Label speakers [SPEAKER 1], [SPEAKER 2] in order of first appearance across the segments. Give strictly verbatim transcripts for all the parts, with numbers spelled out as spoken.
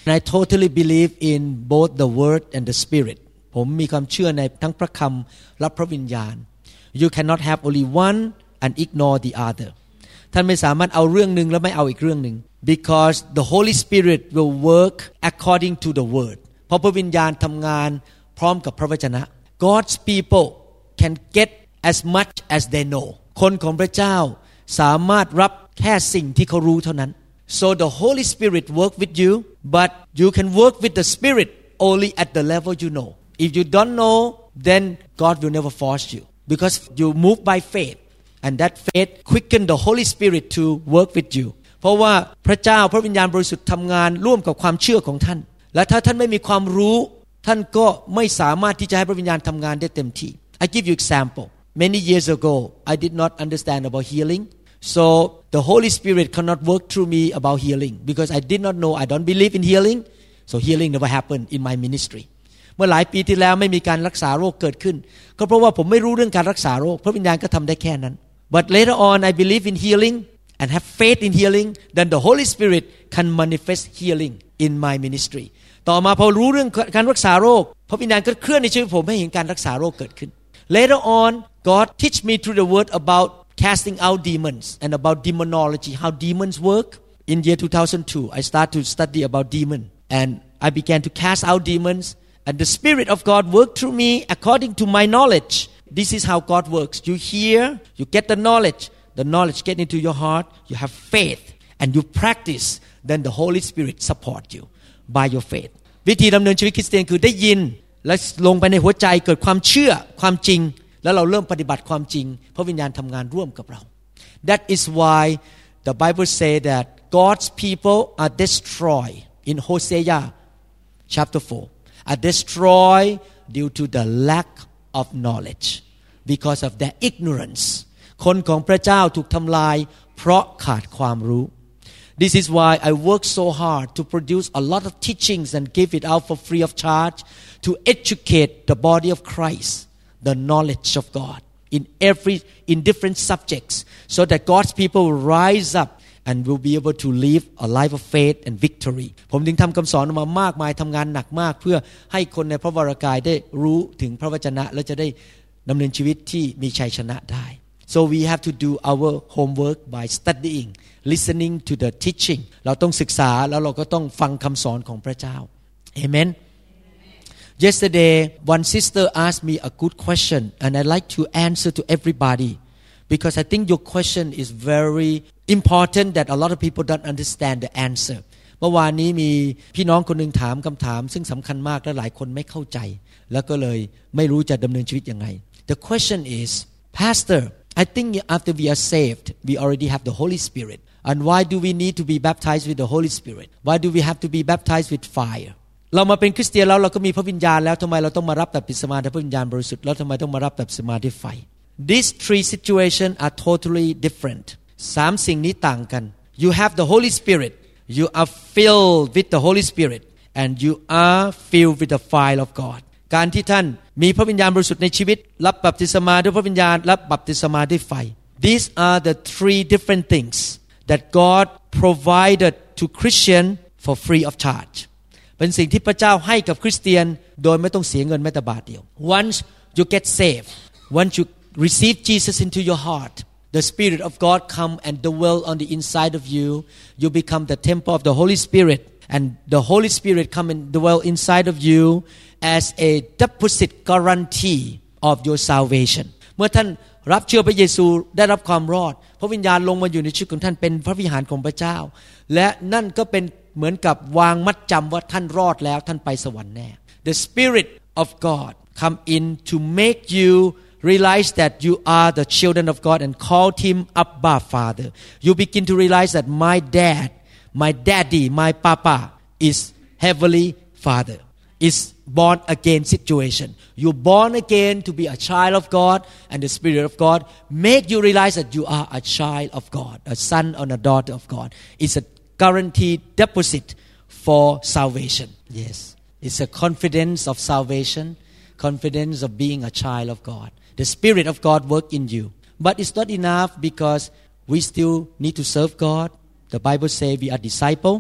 [SPEAKER 1] and I totally believe in both the word and the spirit ผมมีความเชื่อในทั้งพระคำและพระวิญญาณ You cannot have only one and ignore the other ท่านไม่สามารถเอาเรื่องนึงแล้วไม่เอาอีกเรื่องนึง because the Holy Spirit will work according to the word เพราะพระวิญญาณทำงานพร้อมกับพระวจนะ God's people can get as much as they know คนของพระเจ้าสามารถรับแค่สิ่งที่เขารู้เท่านั้น so the Holy Spirit work with you but you can work with the Spirit only at the level you know if you don't know then God will never force you because you move by faith and that faith quicken the Holy Spirit to work with you เพราะว่าพระเจ้าพระวิญญาณบริสุทธิ์ทำงานร่วมกับความเชื่อของท่านและถ้าท่านไม่มีความรู้ท่านก็ไม่สามารถที่จะให้พระวิญญาณทำงานได้เต็มที่ I give you example many years ago I did not understand about healing so the Holy Spirit cannot work through me about healing because I did not know I don't believe in healing so healing never happened in my ministry เมื่อหลายปีที่แล้วไม่มีการรักษาโรคเกิดขึ้นก็เพราะว่าผมไม่รู้เรื่องการรักษาโรคพระวิญญาณก็ทำได้แค่นั้น but later on I believe in healing and have faith in healing then the Holy Spirit can manifest healing in my ministry ต่อมาพอรู้เรื่องการรักษาโรคพระวิญญาณก็เคลื่อนในชีวิตผมให้เห็นการรักษาโรคเกิดขึ้น later on God teach me through the word about casting out demons and about demonology how demons work in year two thousand two I started to study about demon and I began to cast out demons and the Spirit of God worked through me according to my knowledge this is how God works you hear you get the knowledge the knowledge get into your heart you have faith and you practice then the Holy Spirit support you by your faith วิธีดำเนินชีวิตคริสเตียนคือได้ยินและลงไปในหัวใจเกิดความเชื่อความจริงแล้วเราเริ่มปฏิบัติความจริงพระวิญญาณทำงานร่วมกับเรา That is why the Bible say that God's people are destroyed in Hosea chapter four are destroyed due to the lack of knowledge because of their ignorance คนของพระเจ้าถูกทำลายเพราะขาดความรู้ This is why I work so hard to produce a lot of teachings and give it out for free of charge to educate the body of Christ the knowledge of God in every in different subjects so that God's people will rise up and will be able to live a life of faith and victory ผมจึงทำคำสอนออกมามากมายทำงานหนักมากเพื่อให้คนในพระวรากายได้รู้ถึงพระวจนะและจะได้ดำเนินชีวิตที่มีชัยชนะได้ so we have to do our homework by studying listening to the teaching เราต้องศึกษาแล้วเราก็ต้องฟังคำสอนของพระเจ้า Amen Yesterday one sister asked me a good question and I like to answer to everybody because I think your question is very important that a lot of people don't understand the answer เมื่อวานนี้มีพี่น้องคนนึงถามคำถามซึ่งสำคัญมากและหลายคนไม่เข้าใจแล้วก็เลยไม่รู้จะดำเนินชีวิตยังไง The question is Pastor I think after we are saved we already have the Holy Spirit and why do we need to be baptized with the Holy Spirit why do we have to be baptized with fireเรามาเป็นคริสเตียนแล้วเราก็มีพระวิญญาณแล้วทำไมเราต้องมารับบัพติศมาด้วยพระวิญญาณบริสุทธิ์แล้วทำไมต้องมารับบัพติศมาด้วยไฟ These three situations are totally different สามสิ่งนี้ต่างกัน You have the Holy Spirit you are filled with the Holy Spirit and you are filled with the fire of God การที่ท่านมีพระวิญญาณบริสุทธิ์ในชีวิตรับบัพติศมาด้วยพระวิญญาณรับบัพติศมาด้วยไฟ These are the three different things that God provided to Christian for free of chargeเป็นสิ่งที่พระเจ้าให้กับคริสเตียนโดยไม่ต้องเสียเงินแม้แต่บาทเดียว Once you get saved once you receive Jesus into your heart the Spirit of God come and dwell on the inside of you you become the temple of the Holy Spirit and the Holy Spirit come and dwell inside of you as a deposit guarantee of your salvation เมื่อท่านรับเชื่อพระเยซูได้รับความรอดพระวิญญาณลงมาอยู่ในชีวิตของท่านเป็นพระวิหารของพระเจ้าและนั่นก็เป็นเหมือนกับวางมัดจำว่าท่านรอดแล้วท่านไปสวรรค์แน่ The Spirit of God come in to make you realize that you are the children of God and call him Abba Father you begin to realize that my dad my daddy my papa is heavenly Father is born again situation you born again to be a child of God and the Spirit of God make you realize that you are a child of God a son or a daughter of God it's a guaranteed deposit for salvation yes it's a confidence of salvation confidence of being a child of God the Spirit of God work in you but it's not enough because we still need to serve God the Bible say we are disciple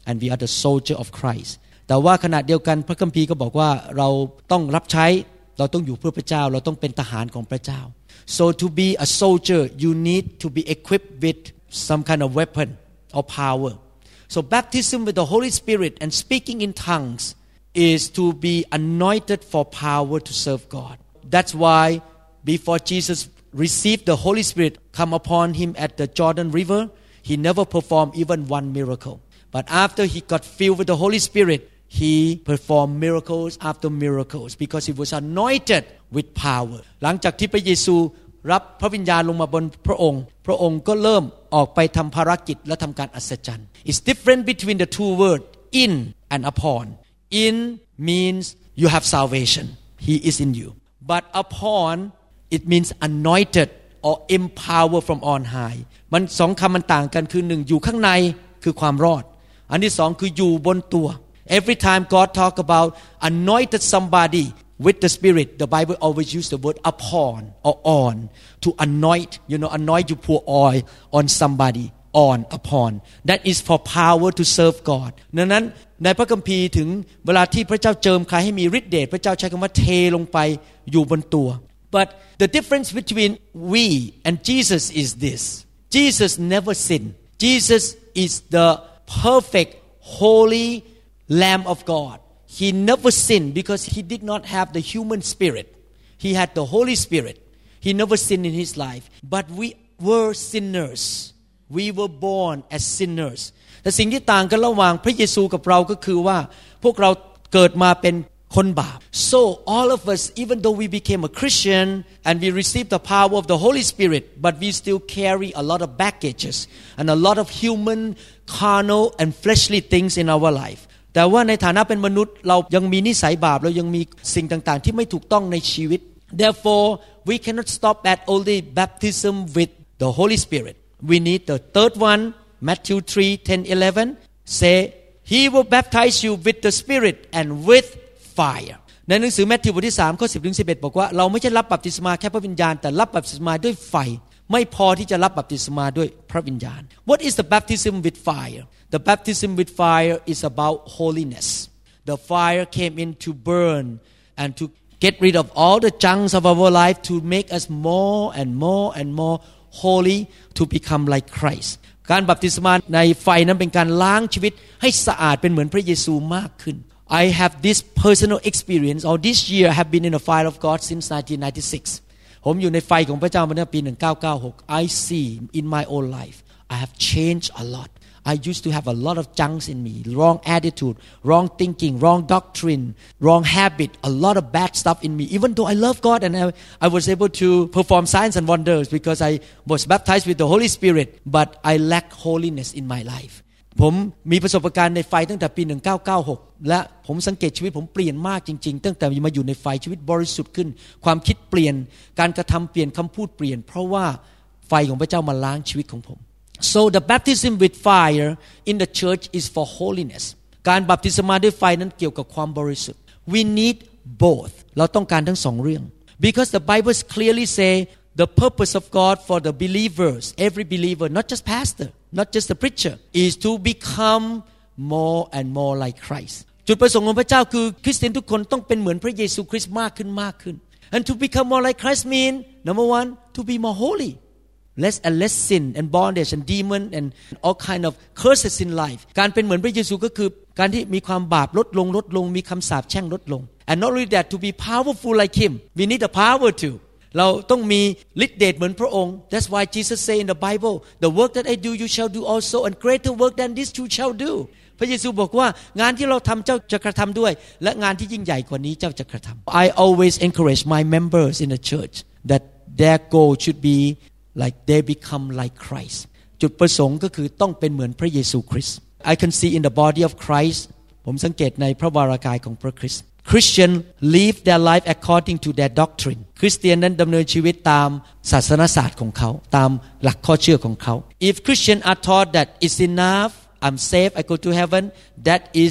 [SPEAKER 1] and we are the soldier of Christ แต่ว่าขณะเดียวกันพระคัมภีร์ก็บอกว่าเราต้องรับใช้เราต้องอยู่เพื่อพระเจ้าเราต้องเป็นทหารของพระเจ้า so to be a soldier you need to be equipped with some kind of weapon or power so baptism with the Holy Spirit and speaking in tongues is to be anointed for power to serve God that's why before Jesus received the Holy Spirit come upon him at the Jordan River he never performed even one miracle but after he got filled with the Holy Spirit he performed miracles after miracles because he was anointed with power หลังจากที่พระเยซูรับพระวิญญาณลงมาบนพระองค์พระองค์ก็เริ่มออกไปทำภารกิจและทำการอัศจรรย์ It's different between the two words in and upon in means you have salvation he is in you but upon it means anointed or empower from on high มันสองคำมันต่างกันคือหนึ่งอยู่ข้างในคือความรอดอันที่สองคืออยู่บนตัว Every time God talk about anointed somebody with the Spirit the Bible always use the word upon or on to anoint you know anoint you pour oil on somebody on upon that is for power to serve God ดังนั้นในพระคัมภีร์ถึงเวลาที่พระเจ้าเจิมใครให้มีฤทธิ์เดชพระเจ้าใช้คำว่าเทลงไปอยู่บนตัว but the difference between we and Jesus is this Jesus never sinned Jesus is the perfect holy Lamb of God he never sinned because he did not have the human spirit he had the Holy Spirit he never sinned in his life but we were sinners we were born as sinners แต่สิ่งที่ต่างกันระหว่างพระเยซูกับเราก็คือว่าพวกเราเกิดมาเป็นคนบาป so all of us even though we became a Christian and we received the power of the Holy Spirit but we still carry a lot of baggages and a lot of human carnal and fleshly things in our life แต่ว่าในฐานะเป็นมนุษย์เรายังมีนิสัยบาปเรายังมีสิ่งต่างๆที่ไม่ถูกต้องในชีวิต therefore we cannot stop at only baptism with the Holy Spirit we need the third one Matthew three ten eleven say he will baptize you with the Spirit and with fire ในหนังสือมัทธิวบทที่สามข้อสิบถึงสิบเอ็ดบอกว่าเราไม่ใช่รับบัพติศมาแค่พระวิญญาณแต่รับบัพติศมาด้วยไฟไม่พอที่จะรับบัพติศมาด้วยพระวิญญาณ What is the baptism with fire The baptism with fire is about holiness The fire came in to burn and to get rid of all the junks of our life to make us more and more and more holy to become like Christ การบัพติศมาในไฟนั้นเป็นการล้างชีวิตให้สะอาดเป็นเหมือนพระเยซูมากขึ้น I have this personal experience or this year I have been in the fire of God since nineteen ninety-six ผมอยู่ในไฟของพระเจ้ามาตั้งแต่ปีหนึ่งพันเก้าร้อยเก้าสิบหก I see in my own life I have changed a lot I used to have a lot of junks in me wrong attitude wrong thinking wrong doctrine wrong habit a lot of bad stuff in me even though I love God and I, I was able to perform signs and wonders because I was baptized with the Holy Spirit but I lack holiness in my life ผมมีประสบการณ์ในไฟตั้งแต่ปีหนึ่งพันเก้าร้อยเก้าสิบหกและผมสังเกตชีวิตผมเปลี่ยนมากจริงๆตั้งแต่มาอยู่ในไฟชีวิตบริสุทธิ์ขึ้นความคิดเปลี่ยนการกระทำเปลี่ยนคำพูดเปลี่ยนเพราะว่าไฟของพระเจ้ามาล้างชีวิตของผมSo the baptism with fire in the church is for holiness การบัพติศมาด้วยไฟนั้นเกี่ยวกับความบริสุทธิ์ We need both เราต้องการทั้งสองเรื่อง Because the Bible clearly say the purpose of God for the believers every believer not just pastor not just the preacher is to become more and more like Christ จุดประสงค์ของพระเจ้าคือคริสเตียนทุกคนต้องเป็นเหมือนพระเยซูคริสต์มากขึ้นมากขึ้น And to become more like Christ mean number one to be more holy less and less sin and bondage and demon and all kind of curses in life การเป็นเหมือนพระเยซูก็คือการที่มีความบาปลดลงลดลงมีคำสาปแช่งลดลง and not only that to be powerful like him we need the power too เราต้องมีฤทธิ์เดชเหมือนพระองค์ that's why Jesus say in the Bible the work that I do you shall do also and greater work than this you shall do พระเยซูบอกว่างานที่เราทำเจ้าจะกระทำด้วยและงานที่ยิ่งใหญ่กว่านี้เจ้าจะกระทำ I always encourage my members in the church that their goal should be like they become like Christ จุดประสงค์ก็คือต้องเป็นเหมือนพระเยซูคริสต์ I can see in the body of Christ ผมสังเกตในพระวรากายของพระคริสต์ Christian live their life according to their doctrine คริสเตียนนั้นดำเนินชีวิตตามศาสนศาสตร์ของเขาตามหลักข้อเชื่อของเขา If Christian are taught that it's enough I'm safe I go to heaven that is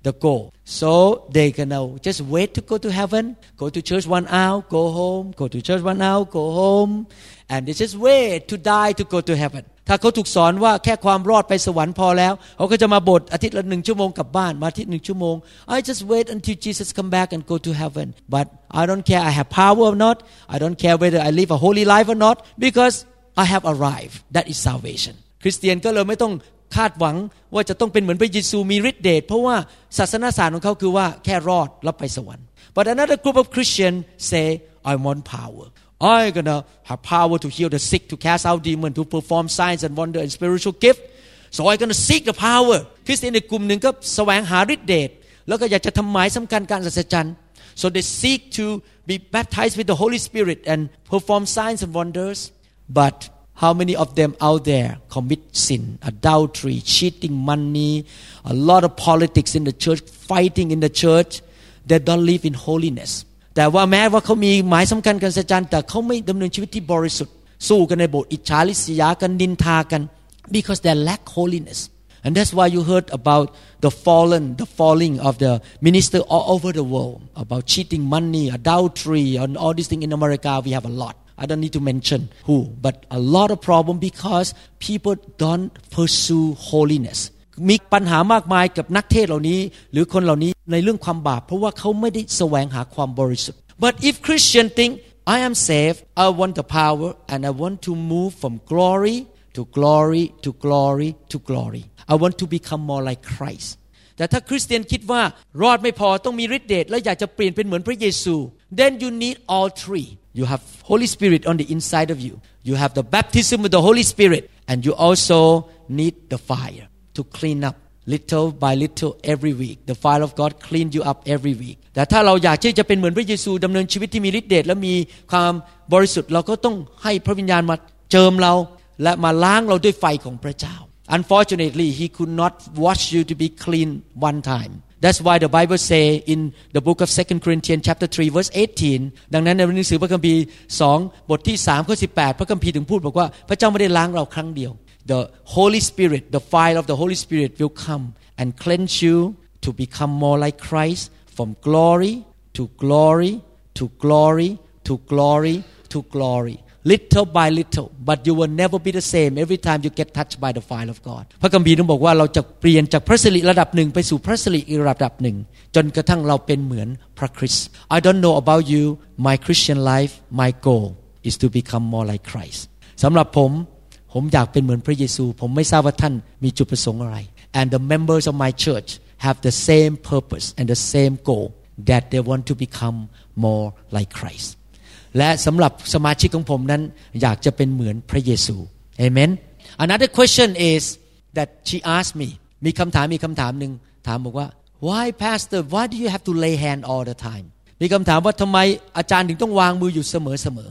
[SPEAKER 1] the goal. So they gonna just wait to go to heaven, go to church one hour, go home, go to church one hour, go home, and they just wait to die to go to heaven. ถ้าเขาถูกสอนว่าแค่ความรอดไปสวรรค์พอแล้วเขาก็จะมาโบสถ์อาทิตย์ละหนึ่งชั่วโมงกลับบ้านมาอาทิตย์หนึ่งชั่วโมง I just wait until Jesus come back and go to heaven. But I don't care I have power or not. I don't care whether I live a holy life or not because I have arrived. That is salvation. คริสเตียนก็เลยไม่ต้องคาดหวังว่าจะต้องเป็นเหมือนพระเยซูมีฤทธิ์เดชเพราะว่าศาสนาศาสตร์ของเขาคือว่าแค่รอดแล้วไปสวรรค์ But another group of Christians say I want power. I'm gonna have power to heal the sick, to cast out demons, to perform signs and wonder and spiritual gift. So I'm gonna seek the power. คริสเตียนในกลุ่มหนึ่งก็แสวงหาฤทธิ์เดชแล้วก็อยากจะทำหมายสำคัญการอัศจรรย์ So they seek to be baptized with the Holy Spirit and perform signs and wonders. But how many of them out there commit sin, adultery, cheating money, a lot of politics in the church, fighting in the church? They don't live in holiness. แต่ว่าแม้ว่าเขามีหมายสำคัญการอัศจรรย์แต่เขาไม่ดำเนินชีวิตที่บริสุทธิ์สู้กันในโบสถ์อิจฉาริษยากันนินทากัน because they lack holiness and that's why you heard about the fallen the falling of the minister all over the world about cheating money adultery and all these things in America we have a lot I don't need to mention who but a lot of problem because people don't pursue holinessมีปัญหามากมายกับนักเทศเหล่านี้หรือคนเหล่านี้ในเรื่องความบาปเพราะว่าเขาไม่ได้แสวงหาความบริสุทธิ์ But if Christian think I am saved I want the power and I want to move from glory to glory to glory to glory I want to become more like Christ แต่ถ้าคริสเตียนคิดว่ารอดไม่พอต้องมีฤทธิ์เดชและอยากจะเปลี่ยนเป็นเหมือนพระเยซู Then you need all three You have Holy Spirit on the inside of you You have the baptism with the Holy Spirit and you also need the fire to clean up little by little every week the fire of God clean you up every week แต่ถ้าเราอยากที่จะเป็นเหมือนพระเยซูดำเนินชีวิตที่มีฤทธิ์เดชและมีความบริสุทธิ์เราก็ต้องให้พระวิญญาณมาเจิมเราและมาล้างเราด้วยไฟของพระเจ้า Unfortunately he could not wash you to be clean one time That's why the Bible say in the book of Second Corinthians chapter three verse eighteen ดังนั้นในหนังสือพระคัมภีร์สองบทที่สามข้อสิบแปดพระคัมภีร์ถึงพูดบอกว่าพระเจ้าไม่ได้ล้างเราครั้งเดียวThe Holy Spirit, the fire of the Holy Spirit will come and cleanse you to become more like Christ from glory to glory to glory to glory to glory. Little by little, but you will never be the same every time you get touched by the fire of God. พระคัมภีร์นั้นบอกว่าเราจะเปลี่ยนจากพระสิริระดับหนึ่งไปสู่พระสิริอีกระดับหนึ่งจนกระทั่งเราเป็นเหมือนพระคริสต์ I don't know about you, my Christian life, my goal is to become more like Christ. สำหรับผมผมอยากเป็นเหมือนพระเยซูผมไม่ทราบว่าท่านมีจุดประสงค์อะไร and the members of my church have the same purpose and the same goal that they want to become more like Christ และสำหรับสมาชิกของผมนั้นอยากจะเป็นเหมือนพระเยซู Amen Another question is that she asked me มีคำถามมีคำถามหนึ่งถามบอกว่า Why pastor why do you have to lay hand all the time มีคำถามว่าทำไมอาจารย์ถึงต้องวางมืออยู่เสมอ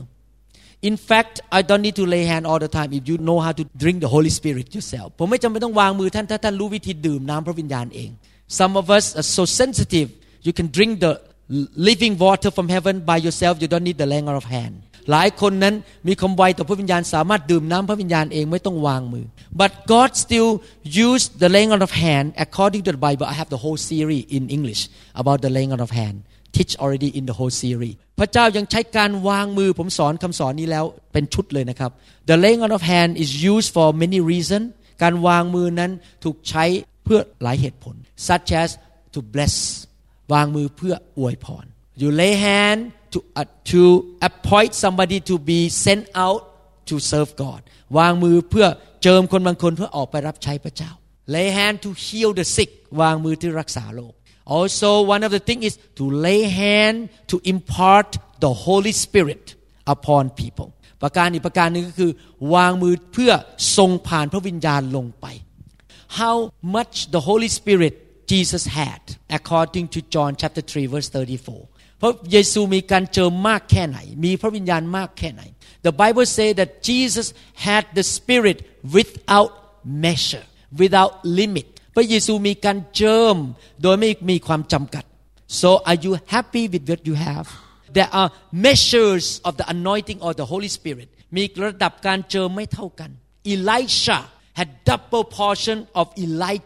[SPEAKER 1] In fact, I don't need to lay hand all the time if you know how to drink the Holy Spirit yourself. ผมไม่จำเป็นต้องวางมือท่านถ้าท่านรู้วิธีดื่มน้ำพระวิญญาณเอง Some of us are so sensitive. You can drink the living water from heaven by yourself. You don't need the laying on of hand. หลายคนนั้นมีความไวต่อพระวิญญาณสามารถดื่มน้ำพระวิญญาณเองไม่ต้องวางมือ But God still used the laying on of hand according to the Bible. I have the whole series in English about the laying on of hand.teach already in the whole series พระเจ้ายังใช้การวางมือผมสอนคำสอนนี้แล้วเป็นชุดเลยนะครับ The laying on of hand is used for many reasons การวางมือนั้นถูกใช้เพื่อหลายเหตุผล such as to bless วางมือเพื่ออวยพร You lay hand to uh, to appoint somebody to be sent out to serve God วางมือเพื่อเจิมคนบางคนเพื่อออกไปรับใช้พระเจ้า Lay hand to heal the sick วางมือที่รักษาโรคAlso, one of the things is to lay hand to impart the Holy Spirit upon people. ประการอีกประการนึงก็คือวางมือเพื่อทรงผ่านพระวิญญาณลงไป How much the Holy Spirit Jesus had according to John chapter three verse thirty-four. เพราะเยซูมีการเจิมมากแค่ไหนมีพระวิญญาณมากแค่ไหน The Bible say that Jesus had the Spirit without measure, without limit.พระเยซูมีการเจิมโดยไม่มีความจำกัด So are you happy with what you have? There are measures of the anointing of the Holy Spirit มีระดับการเจิมไม่เท่ากัน Elisha had double portion of Elijah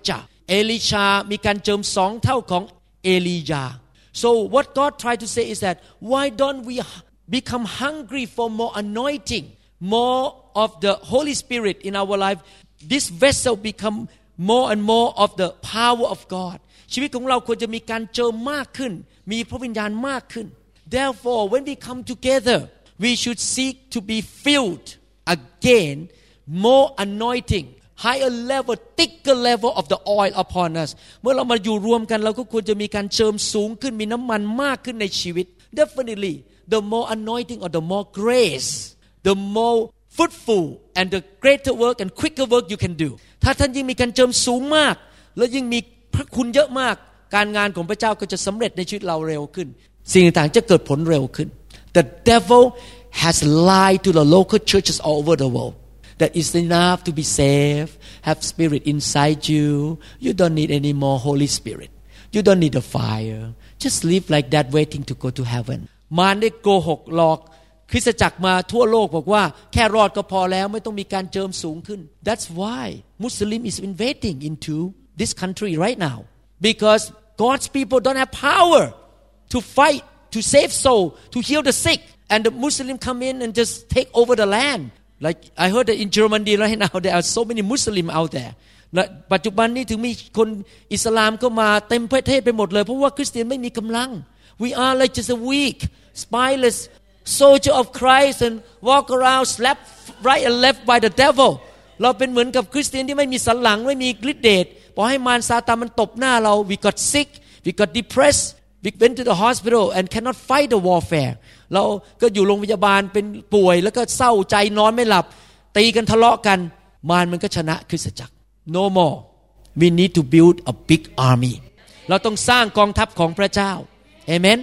[SPEAKER 1] เอลิชามีการเจิมสองเท่าของเอลียา so what God tried to say is that why don't we become hungry for more anointing more of the Holy Spirit in our life this vessel become more and more of the power of God ชีวิตของเราควรจะมีการเจิมมากขึ้นมีพระวิญญาณมากขึ้น therefore when we come together we should seek to be filled again more anointing higher level thicker level of the oil upon us เมื่อเรามาอยู่รวมกันเราก็ควรจะมีการเจิมสูงขึ้นมีน้ำมันมากขึ้นในชีวิต definitely the more anointing or the more grace the more fruitful and the greater work and quicker work you can do ถ้าท่านยิ่งมีการเจิมสูงมากและยิ่งมีพระคุณเยอะมากการงานของพระเจ้าก็จะสำเร็จในชีวิตเราเร็วขึ้นสิ่งต่างๆจะเกิดผลเร็วขึ้น The devil has lied to the local churches all over the world that it's enough to be saved have spirit inside you you don't need any more Holy Spirit you don't need a fire just live like that waiting to go to heaven มารได้โกหกหลอกคริสตจักรมาทั่วโลกบอกว่าแค่รอดก็พอแล้วไม่ต้องมีการเจิมสูงขึ้น That's why Muslim is invading into this country right now because God's people don't have power to fight to save soul to heal the sick and the Muslim come in and just take over the land like I heard that in Germany right now there are so many Muslim out there ปัจจุบันนี้ถึงมีคนอิสลามก็มาเต็มประเทศไปหมดเลยเพราะว่าคริสเตียนไม่มีกำลัง we are like just a weak spineless soldier of Christ and walk around slap right and left by the devil เราเป็นเหมือนกับคริสเตียนที่ไม่มีสันหลังไม่มีฤทธิ์เดชพอให้มารซาตานมันตบหน้าเรา we got sick we got depressed we went to the hospital and cannot fight the warfare เราก็อยู่โรงพยาบาลเป็นป่วยแล้วก็เศร้าใจนอนไม่หลับตีกันทะเลาะกันมารมันก็ชนะคริสตจักร no more we need to build a big army เราต้องสร้างกองทัพของพระเจ้า amen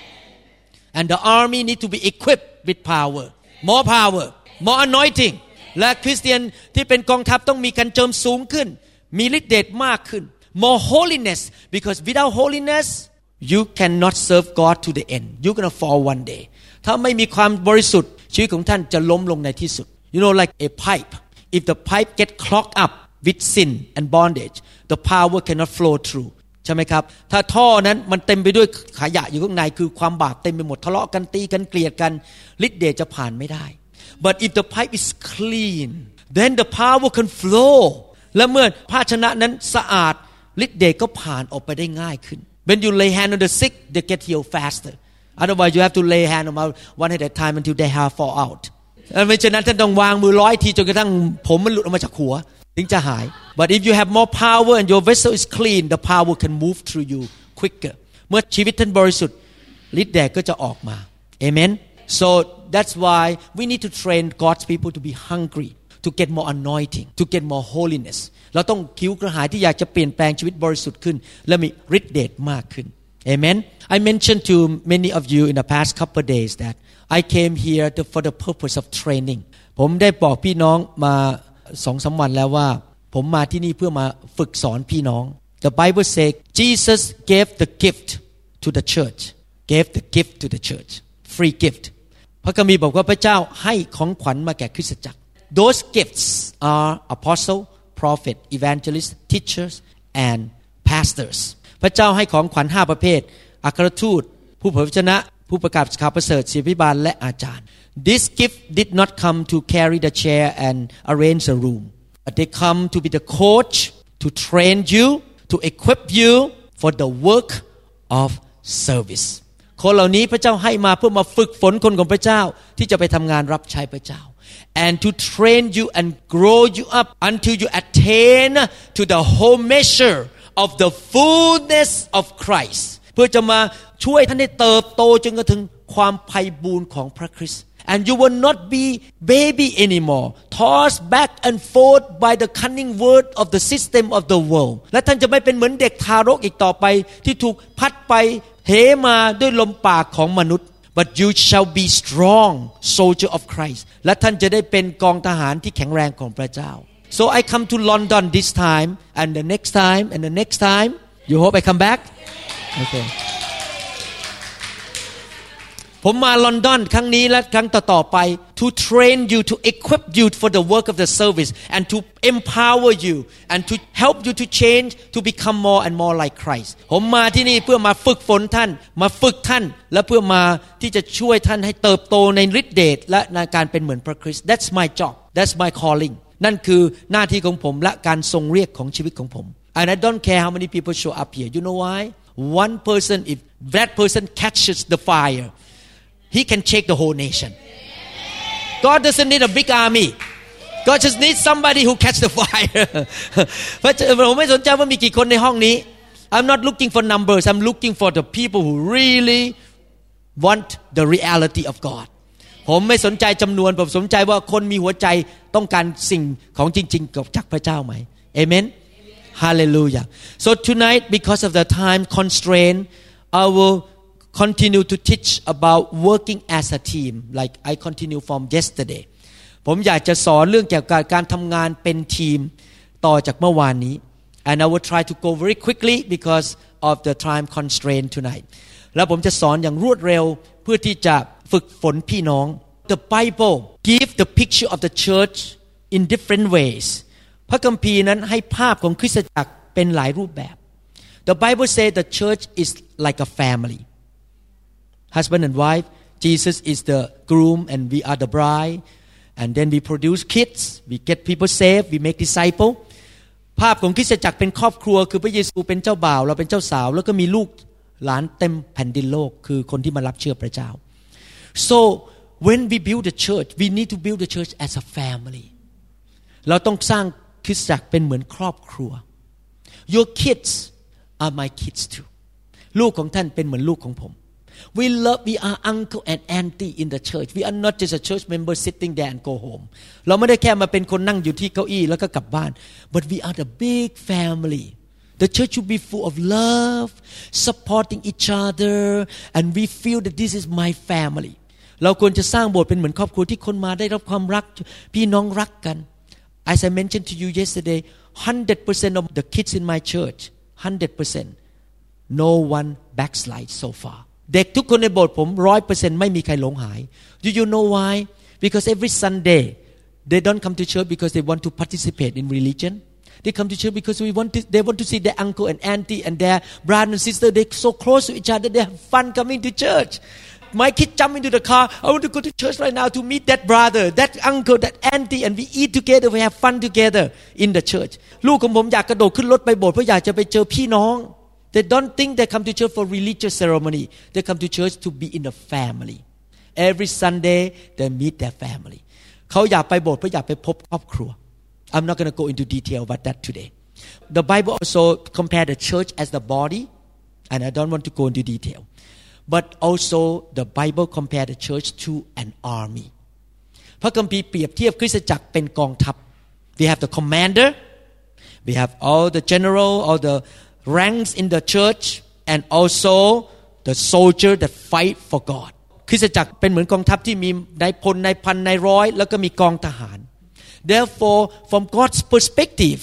[SPEAKER 1] and the army need to be equipped with power more power more anointing และคริสเตียนที่เป็นกองทัพต้องมีการเจิมสูงขึ้นมีฤทธิ์เดชมากขึ้น more holiness because without holiness you cannot serve God to the end you're gonna fall one day ถ้าไม่มีความบริสุทธิ์ชีวิตของท่านจะล้มลงในที่สุด you know like a pipe if the pipe get clogged up with sin and bondage the power cannot flow through ใช่ไหมครับถ้าท่อนั้นมันเต็มไปด้วยขยะอยู่ข้างในคือความบาปเต็มไปหมดทะเลาะกันตีกันเกลียดกันฤทธิ์เดชจะผ่านไม่ได้ but if the pipe is clean then the power can flow และเมื่อภาชนะนั้นสะอาดฤทธิ์เดชก็ผ่านออกไปได้ง่ายขึ้นWhen you lay hand on the sick, they get healed faster. Otherwise, you have to lay hand on them one at a time until their hair fall out. ไม่เช่นนั้นท่านต้องวางมือร้อยทีจนกระทั่งผมมันหลุดออกมาจากหัวถึงจะหาย But if you have more power and your vessel is clean, the power can move through you quicker. เมื่อชีวิตท่านบริสุทธิ์ฤทธิ์เดชก็จะออกมา Amen. So that's why we need to train God's people to be hungry, to get more anointing, to get more holiness.เราต้องคิ้วกระหายที่อยากจะเปลี่ยนแปลงชีวิตบริสุทธิ์ขึ้นและมีฤทธิ์เดชมากขึ้น Amen. I mentioned to many of you in the past couple of days that I came here to, for the purpose of training. ผมได้บอกพี่น้องมา สองสาม วันแล้วว่าผมมาที่นี่เพื่อมาฝึกสอนพี่น้อง The Bible says Jesus gave the gift to the church. Gave the gift to the church. Free gift. พระคัมภีร์บอกว่าพระเจ้าให้ของขวัญมาแก่คริสตจักร Those gifts are apostle prophet evangelist teachers and pastors พระเจ้าให้ของขวัญห้าประเภทอัครทูตผู้เผยพระวจนะผู้ประกาศข่าวประเสริฐศิษยาภิบาลและอาจารย์ This gift did not come to carry the chair and arrange the room but they come to be the coach to train you to equip you for the work of service คนเหล่านี้พระเจ้าให้มาเพื่อมาฝึกฝนคนของพระเจ้าที่จะไปทำงานรับใช้พระเจ้าand to train you and grow you up until you attain to the whole measure of the fullness of Christ เพื่อจะมาช่วยท่านให้เติบโตจนกระทั่งความไพบูลย์ของพระคริสต์ and you will not be baby anymore tossed back and forth by the cunning word of the system of the world และท่านจะไม่เป็นเหมือนเด็กทารกอีกต่อไปที่ถูกพัดไปเหมาด้วยลมปากของมนุษย์But you shall be strong soldier of Christ และท่านจะได้เป็นกองทหารที่แข็งแรงของพระเจ้า So I come to London this time and the next time and the next time you hope I come back Okay ผมมาลอนดอนครั้งนี้และครั้งต่อๆไป to train you to equip you for the work of the service and to empower you and to help you to change to become more and more like Christ ผมมาที่นี่เพื่อมาฝึกฝนท่านมาฝึกท่านและเพื่อมาที่จะช่วยท่านให้เติบโตในฤทธิเดชและในการเป็นเหมือนพระคริสต์ That's my job That's my calling นั่นคือหน้าที่ของผมและการทรงเรียกของชีวิตของผม And I don't care how many people show up here You know why One person if that person catches the fire he can shake the whole nation God doesn't need a big army God just needs somebody who catch the fire ผมไม่สนใจว่ามีกี่คนในห้องนี้ I'm not looking for numbers I'm looking for the people who really want the reality of God ผมไม่สนใจจำนวนผมสนใจว่าคนมีหัวใจต้องการสิ่งของจริงๆจากพระเจ้าไหม Amen Hallelujah So tonight because of the time constraint I will continue to teach about working as a team like I continue from yesterday ผมอยากจะสอนเรื่องเกี่ยวกับการทำงานเป็นทีมต่อจากเมื่อวานนี้ and I will try to go very quickly because of the time constraint tonight แล้วผมจะสอนอย่างรวดเร็วเพื่อที่จะฝึกฝนพี่น้อง The Bible give the picture of the church in different ways พระคัมภีร์นั้นให้ภาพของคริสตจักรเป็นหลายรูปแบบ The Bible say the church is like a family husband and wife Jesus is the groom and we are the bride and then we produce kids we get people saved we make disciple ภาพของคริสตจักรเป็นครอบครัวคือพระเยซูเป็นเจ้าบ่าวเราเป็นเจ้าสาวแล้วก็มีลูกหลานเต็มแผ่นดินโลกคือคนที่มารับเชื่อพระเจ้า so when we build the church we need to build the church as a family เราต้องสร้างคริสตจักรเป็นเหมือนครอบครัว your kids are my kids too ลูกของท่านเป็นเหมือนลูกของผมWe love we are uncle and auntie in the church we are not just a church member sitting there and go home เราไม่ได้แค่มาเป็นคนนั่งอยู่ที่เก้าอี้แล้วก็กลับบ้าน but we are the big family the church should be full of love supporting each other and we feel that this is my family เราควรจะสร้างโบสถ์เป็นเหมือนครอบครัวที่คนมาได้รับความรักพี่น้องรักกัน as I mentioned to you yesterday one hundred percent of the kids in my church one hundred percent no one backslide so farเด็กทุกคนในโบสถ์ผม one hundred percent ไม่มีใครหลงหาย Do you know why? Because every Sunday they don't come to church because they want to participate in religion. They come to church because we want to, they want to see their uncle and auntie and their brother and sister. They're so close to each other. They have fun coming to church. My kid jump into the car. I want to go to church right now to meet that brother, that uncle, that auntie, and we eat together. We have fun together in the church. ลูกของผมอยากกระโดดขึ้นรถไปโบสถ์เพราะอยากจะไปเจอพี่น้อง They don't think they come to church for religious ceremony. They come to church to be in a family. Every Sunday they meet their family. เขาอยากไปโบสถ์เพราะอยากไปพบครอบครัว I'm not going to go into detail about that today. The Bible also compare the church as the body, and I don't want to go into detail. But also the Bible compare the church to an army. พระคัมภีร์เปรียบเทียบคริสตจักรเป็นกองทัพ We have the commander, we have all the general, all the ranks in the church and also the soldier that fight for God คริสตจักรเป็นเหมือนกองทัพที่มีนายพลนายพันนายร้อยแล้วก็มีกองทหาร Therefore from God's perspective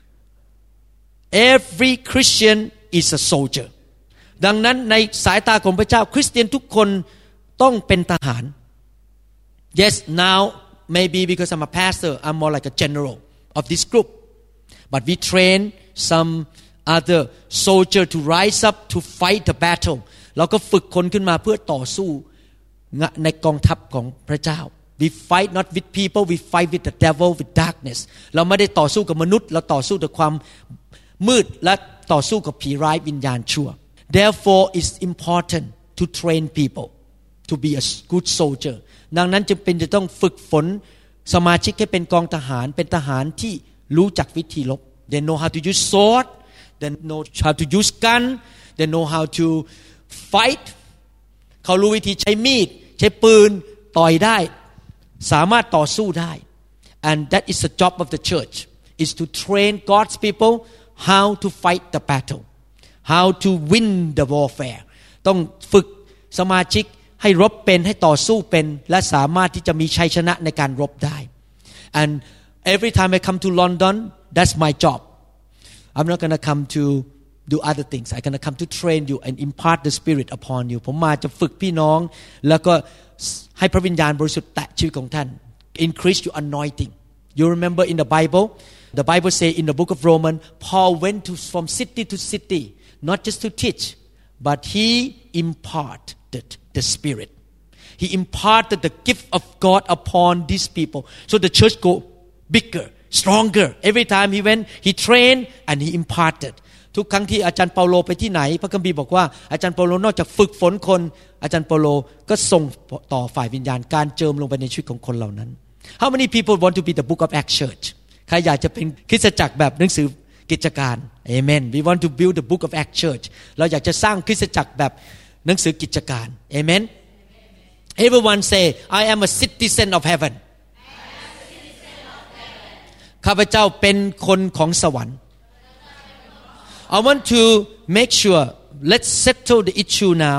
[SPEAKER 1] every Christian is a soldier ดังนั้นในสายตาของพระเจ้าคริสเตียนทุกคนต้องเป็นทหาร Yes now maybe because I'm a pastor I'm more like a general of this group but we train some other soldier to rise up to fight the battle เราก็ฝึกคนขึ้นมาเพื่อต่อสู้ในกองทัพของพระเจ้า we fight not with people we fight with the devil with darkness เราไม่ได้ต่อสู้กับมนุษย์เราต่อสู้กับความมืดและต่อสู้กับผีร้ายวิญญาณชั่ว therefore it's important to train people to be a good soldier ดังนั้นจึงเป็นจะต้องฝึกฝนสมาชิกให้เป็นกองทหารเป็นทหารที่รู้จักวิธีรบ they know how to use sword they know how to use gun they know how to fight เขารู้วิธีใช้มีดใช้ปืนต่อยได้สามารถต่อสู้ได้ and that is the job of the church is to train God's people how to fight the battle how to win the warfare ต้องฝึกสมาชิกให้รบเป็นให้ต่อสู้เป็นและสามารถที่จะมีชัยชนะในการรบได้ and every time I come to London that's my job I'm not going to come to do other things I'm gonna come to train you and impart the Spirit upon you ผมมาจะฝึกพี่น้องแล้วก็ให้พระวิญญาณบริสุทธิ์แตะชีวิตของท่าน increase your anointing you remember in the Bible the Bible say in the book of Romans Paul went to from city to city not just to teach but he imparted the Spirit he imparted the gift of God upon these people so the church go bigger stronger every time he went he trained and he imparted ทุกครั้งที่อาจารย์เปาโลไปที่ไหนพระคัมภีร์บอกว่าอาจารย์เปาโลนอกจากฝึกฝนคนอาจารย์เปาโลก็ส่งต่อฝ่ายวิญญาณการเจิมลงไปในชีวิตของคนเหล่านั้น How many people want to be the book of Acts church ใครอยากจะเป็นคริสตจักรแบบหนังสือกิจการ Amen we want to build the book of Acts church เราอยากจะสร้างคริสตจักรแบบหนังสือกิจการ Amen Everyone say I am a citizen of heaven ข้าพเจ้าเป็นคนของสวรรค์ I want to make sure let's settle the issue now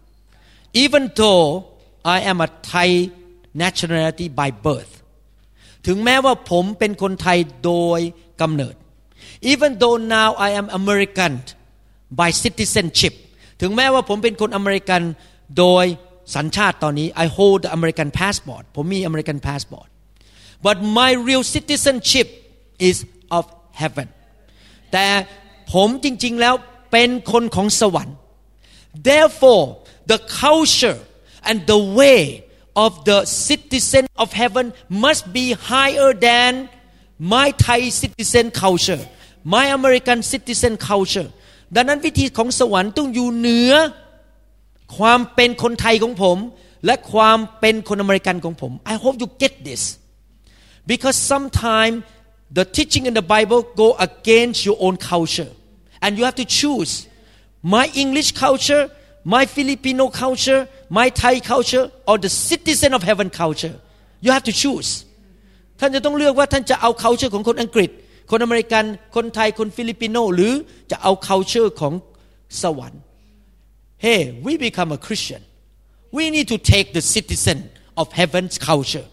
[SPEAKER 1] even though I am a Thai nationality by birth ถึงแม้ว่าผมเป็นคนไทยโดยกำเนิด even though now I am American by citizenship ถึงแม้ว่าผมเป็นคนอเมริกันโดยสัญชาติตอนนี้ I hold the American passport ผมมี American passport but my real citizenship is of heaven แต่ผมจริงๆแล้วเป็นคนของสวรรค์ therefore the culture and the way of the citizen of heaven must be higher than my Thai citizen culture my American citizen culture ดังนั้นวิธีของสวรรค์ต้องอยู่เหนือความเป็นคนไทยของผมและความเป็นคนอเมริกันของผม I hope you get this because sometimes the teaching in the Bible go against your own culture and you have to choose my English culture my Filipino culture my Thai culture or the citizen of heaven culture you have to choose ท่านจะต้องเลือกว่าท่านจะเอา culture ของคนอังกฤษคนอเมริกันคนไทยคนฟิลิปปิโนหรือจะเอา culture ของสวรรค์ Hey we become a Christian we need to take the citizen of heaven's culture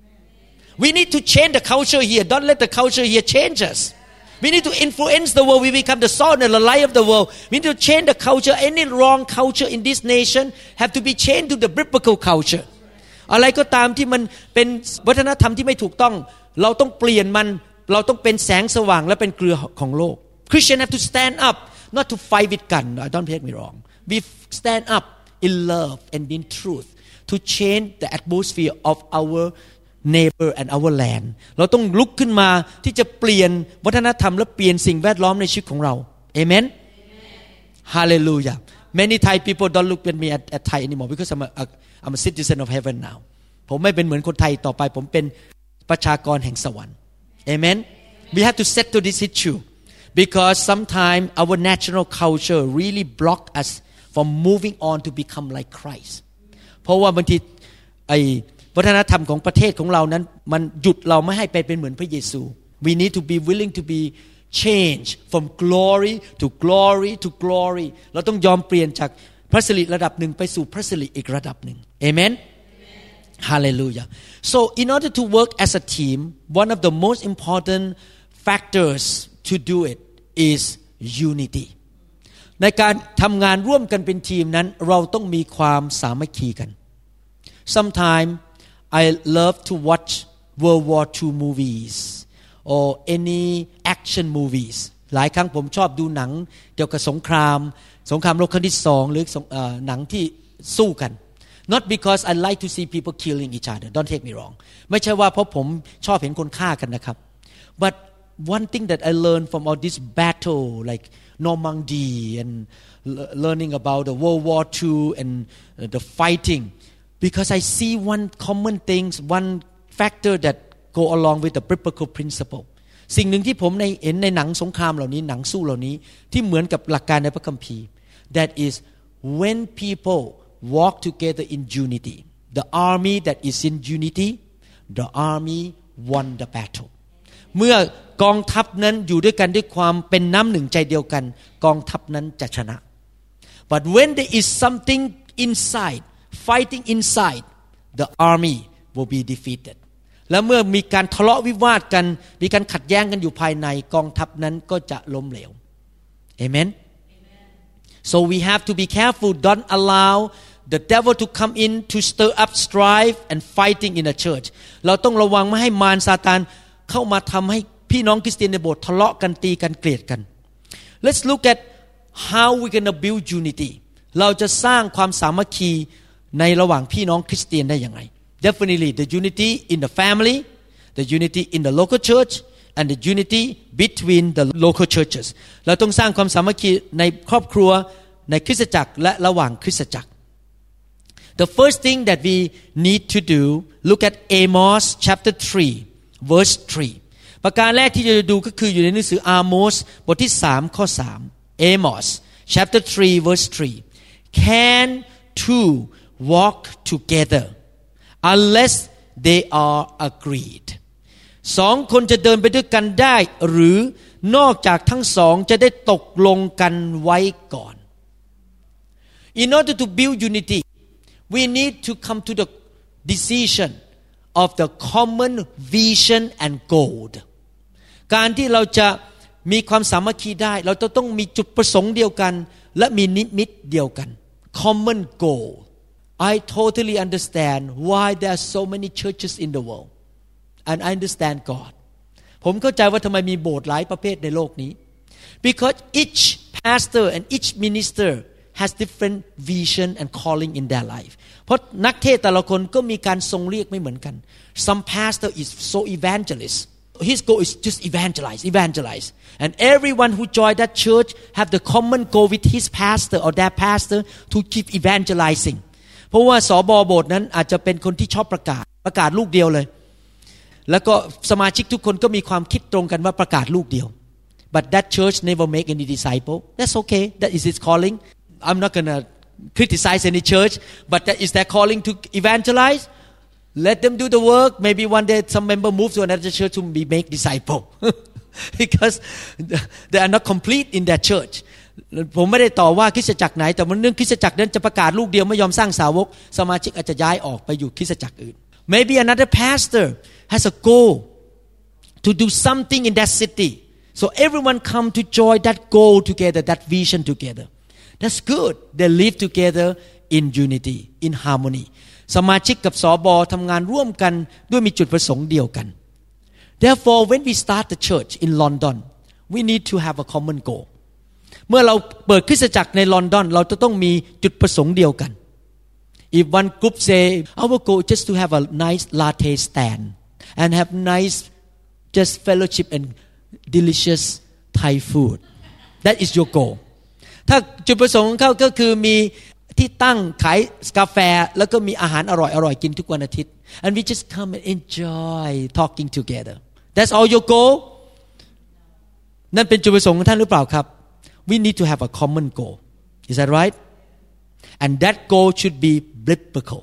[SPEAKER 1] we need to change the culture here don't let the culture here change us we need to influence the world we become the salt and the light of the world we need to change the culture any wrong culture in this nation have to be changed to the biblical culture อะไรก็ตามที่มันเป็นวัฒนธรรมที่ไม่ถูกต้องเราต้องเปลี่ยนมันเราต้องเป็นแสงสว่างและเป็นเกลือของโลก Christian have to stand up not to fight with gun don't take me wrong we stand up in love and in truth to change the atmosphere of our neighbor and our land เราต้องลุกขึ้นมาที่จะเปลี่ยนวัฒนธรรมและเปลี่ยนสิ่งแวดล้อมในชีวิตของเรา Amen Hallelujah many Thai people don't look at me at, at Thai anymore because I'm a, a I'm a citizen of heaven now ผมไม่เป็นเหมือนคนไทยต่อไปผมเป็นประชากรแห่งสวรรค์ Amen we have to settle this issue because sometimes our national culture really block us from moving on to become like Christ เพราะว่าบางทีไอวัฒนธรรมของประเทศของเรานั้นมันหยุดเราไม่ให้ไปเป็นเหมือนพระเยซู we need to be willing to be changed from glory to glory to glory เราต้องยอมเปลี่ยนจากพระสิริระดับหนึ่งไปสู่พระสิริอีกระดับหนึ่ง Amen Hallelujah so in order to work as a team one of the most important factors to do it is unity ในการทำงานร่วมกันเป็นทีมนั้นเราต้องมีความสามัคคีกัน Sometimes I love to watch World War Two movies or any action movies หลายครั้งผมชอบดูหนังเกี่ยวกับสงครามสงครามโลกครั้งที่สองหรือหนังที่สู้กัน Not because I like to see people killing each other don't take me wrong ไม่ใช่ว่าเพราะผมชอบเห็นคนฆ่ากันนะครับ But one thing that I learned from all this battle like Normandy and learning about the World War Two and the fighting because I see one common thing one factor that go along with the biblical principle สิ่งหนึ่งที่ผมในเห็นในหนังสงครามเหล่านี้หนังสู้เหล่านี้ที่เหมือนกับหลักการในพระคัมภีร์ that is when people walk together in unity the army that is in unity the army won the battle เมื่อกองทัพนั้นอยู่ด้วยกันด้วยความเป็นน้ำหนึ่งใจเดียวกันกองทัพนั้นจะชนะ but when there is something inside fighting inside the army will be defeated และเมื่อมีการทะเลาะวิวาทกันมีการขัดแย้งกันอยู่ภายในกองทัพนั้นก็จะล้มเหลว Amen So we have to be careful. Don't allow the devil to come in to stir up strife and fighting in the church. เราต้องระวังไม่ให้มารซาตานเข้ามาทำให้พี่น้องคริสเตียนในโบสถ์ทะเลาะกันตีกันเกลียดกัน Let's look at how we gonna build unity. เราจะสร้างความสามัคคีในระหว่างพี่น้องคริสเตียนได้อย่างไร Definitely the unity in the family, the unity in the local church, and the unity between the local churches. เราต้องสร้างความสามัคคีในครอบครัวในคริสตจักรและระหว่างคริสตจักร The first thing that we need to do, look at Amos chapter three, verse three. ประการแรกที่จะดูก็คืออยู่ในหนังสืออาโมสบทที่สามข้อสาม Amos chapter three, verse three. Can two walk together unless they are agreed? สองคนจะเดินไปด้วยกันได้หรือนอกจากทั้งสองจะได้ตกลงกันไว้ก่อน In order to build unity, we need to come to the decision of the common vision and goal. การที่เราจะมีความสามัคคีได้เราจะต้องมีจุดประสงค์เดียวกันและมีนิมิตเดียวกัน Common goal. I totally understand why there are so many churches in the world, and I understand God. ผมเข้าใจว่าทำไมมีโบสถ์หลายประเภทในโลกนี้ Because each pastor and each minister has different vision and calling in their life. เพราะนักเทศแต่ละคนก็มีการทรงเรียกไม่เหมือนกัน Some pastor is so evangelist. His goal is just evangelize, evangelize. And everyone who joined that church have the common goal with his pastor or their pastor to keep evangelizing. เพราะว่าสบโบสถ์นั้นอาจจะเป็นคนที่ชอบประกาศประกาศลูกเดียวเลยแล้วก็สมาชิกทุกคนก็มีความคิดตรงกันว่าประกาศลูกเดียว But that church never make any disciple. That's okay. That is its calling. I'm not gonna criticize any church, but that is their calling to evangelize. Let them do the work. Maybe one day some member move to another church to be make disciple, because they are not complete in that church. ผมไม่ได้ต่อว่าคริสตจักรไหนแต่มันเรื่องคริสตจักรนั้นจะประกาศลูกเดียวไม่ยอมสร้างสาวกสมาชิกอาจจะย้ายออกไปอยู่คริสตจักรอื่น Maybe another pastor has a goal to do something in that city, so everyone come to join that goal together, that vision together. That's good. They live together in unity, in harmony. สมาชิกกับสบทำงานร่วมกันด้วยมีจุดประสงค์เดียวกัน Therefore, when we start the church in London, we need to have a common goal. เมื่อเราเปิดคริสตจักรในลอนดอนเราจะต้องมีจุดประสงค์เดียวกัน If one group say our goal is just to have a nice latte stand and have nice just fellowship and delicious Thai food, that is your goal. ถ้าจุดประสงค์ของเขาก็คือมีที่ตั้งขายกาแฟแล้วก็มีอาหารอร่อยๆกินทุกวันอาทิตย์ and we just come and enjoy talking together. That's all your goal? นั่นเป็นจุดประสงค์ของท่านหรือเปล่าครับ We need to have a common goal. Is that right? And that goal should be biblical.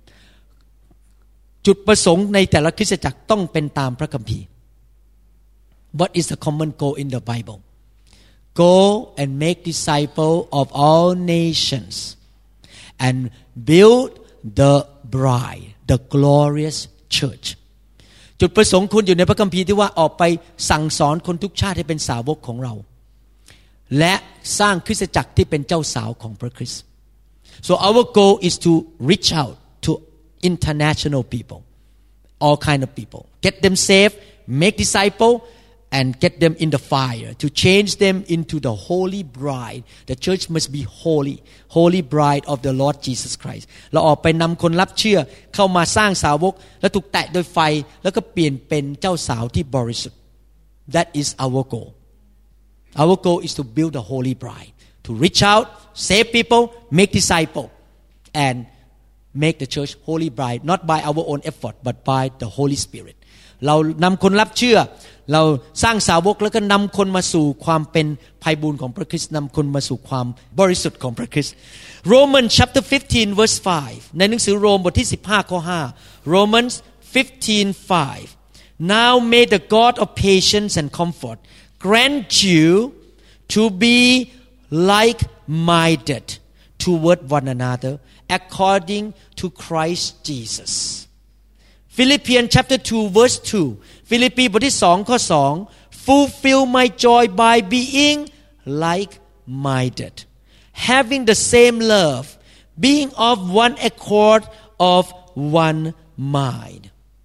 [SPEAKER 1] จุดประสงค์ในแต่ละคริสตจักรต้องเป็นตามพระคัมภีร์ What is the common goal in the Bible? Go and make disciples of all nations and build the bride, the glorious church. จุดประสงค์คุณอยู่ในพระคัมภีร์ที่ว่าออกไปสั่งสอนคนทุกชาติให้เป็นสาวกของเราและสร้างคริสตจักรที่เป็นเจ้าสาวของพระคริสต์ So our goal is to reach out to international people, all kind of people, get them saved, make disciples, and get them in the fire to change them into the holy bride. The church must be holy, holy bride of the Lord Jesus Christ. เราออกไปนำคนรับเชื่อเข้ามาสร้างสาวกและถูกแตะโดยไฟแล้วก็เปลี่ยนเป็นเจ้าสาวที่บริสุทธิ์ That is our goal. Our goal is to build a holy bride, to reach out, save people, make disciples, and make the church holy bride, not by our own effort, but by the Holy Spirit. เรานำคนรับเชื่อเราสร้างสาวกแล้วก็นำคนมาสู่ความเป็นไพบูลย์ของพระคริสต์นำคนมาสู่ความบริสุทธิ์ของพระคริสต์ Romans chapter fifteen verse five ในหนังสือโรมบทที่สิบห้าข้อห้า Romans fifteen five Now may the God of patience and comfort grant you to be like-minded toward one another according to Christ Jesus. Philippians chapter two verse two ฟิลิปปีบทที่สองข้อสอง Fulfill my joy by being like-minded, having the same love, being of one accord, of one mind.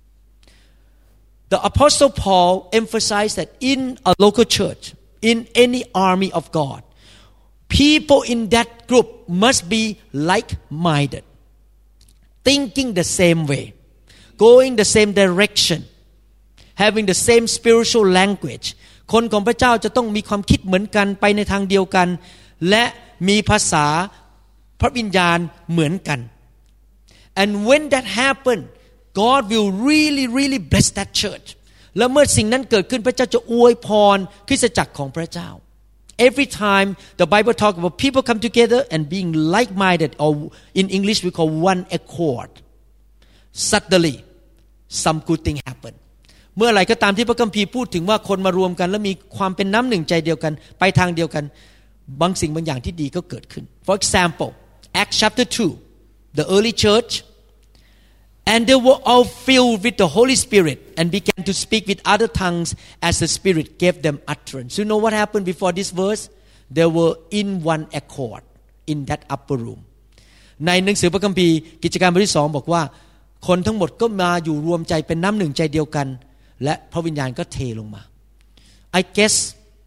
[SPEAKER 1] The Apostle Paul emphasized that in a local church, in any army of God, people in that group must be like-minded, thinking the same way, going the same direction, having the same spiritual language. คนของพระเจ้าจะต้องมีความคิดเหมือนกันไปในทางเดียวกันและมีภาษาพระวิญญาณเหมือนกัน and when that happen God will really really bless that church และเมื่อสิ่งนั้นเกิดขึ้นพระเจ้าจะอวยพรคริสตจักรของพระเจ้า every time the Bible talk about people come together and being like-minded or in English we call one accord suddenly some good thing happenเมื่อไหร่ก็ตามที่พระคัมภีร์พูดถึงว่าคนมารวมกันและมีความเป็นน้ำหนึ่งใจเดียวกันไปทางเดียวกันบางสิ่งบางอย่างที่ดีก็เกิดขึ้น For example Acts chapter two the early church and they were all filled with the Holy Spirit and began to speak with other tongues as the Spirit gave them utterance. You know what happened before this verse? They were in one accord in that upper room. ในหนังสือพระคัมภีร์กิจการบทที่สองบอกว่าคนทั้งหมดก็มาอยู่รวมใจเป็นน้ำหนึ่งใจเดียวกันและพระวิญญาณก็เทลงมา I guess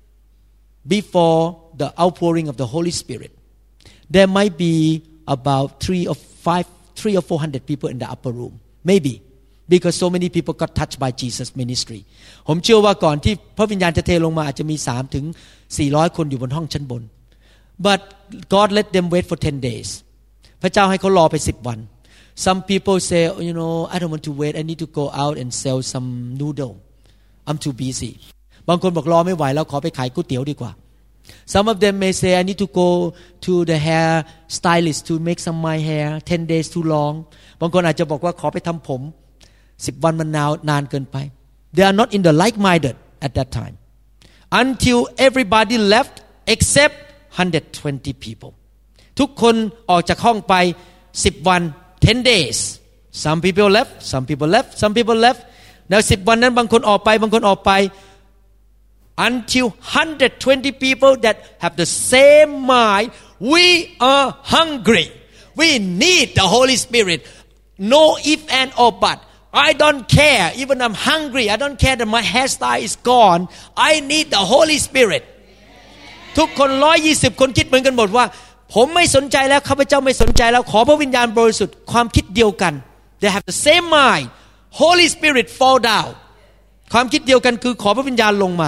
[SPEAKER 1] before the outpouring of the Holy Spirit there might be about three or five three or four hundred people in the upper room maybe because so many people got touched by Jesus ministry ผมเชื่อว่าก่อนที่พระวิญญาณจะเทลงมาอาจจะมีสามถึงสี่ร้อยคนอยู่บนห้องชั้นบน but God let them wait for ten days พระเจ้าให้เขารอไปสิบวัน some people say you know I don't want to wait I need to go out and sell some noodle I'm too busy บางคนบอกรอไม่ไหวแล้วขอไปขายก๋วยเตี๋ยวดีกว่า some of them may say I need to go to the hair stylist to make some my hair ten days too long บางคนอาจจะบอกว่าขอไปทำผมสิบวันมันนานนานเกินไป they are not in the like-minded at that time until everybody left except one hundred twenty people ทุกคนออกจากห้องไปสิบวันten days some people left some people left some people left แล้วสิบวันนั้นบางคนออกไปบางคนออกไป until one hundred twenty people that have the same mind we are hungry we need the Holy Spirit no if and or but I don't care even I'm hungry I don't care that my hairstyle is gone I need the Holy Spirit ทุกคนหนึ่งร้อยยี่สิบคนคิดเหมือนกันหมดว่าผมไม่สนใจแล้วข้าพเจ้าไม่สนใจแล้วขอพระวิญญาณบริสุทธิ์ความคิดเดียวกัน they have the same mind Holy Spirit fall down ความคิดเดียวกันคือขอพระวิญญาณลงมา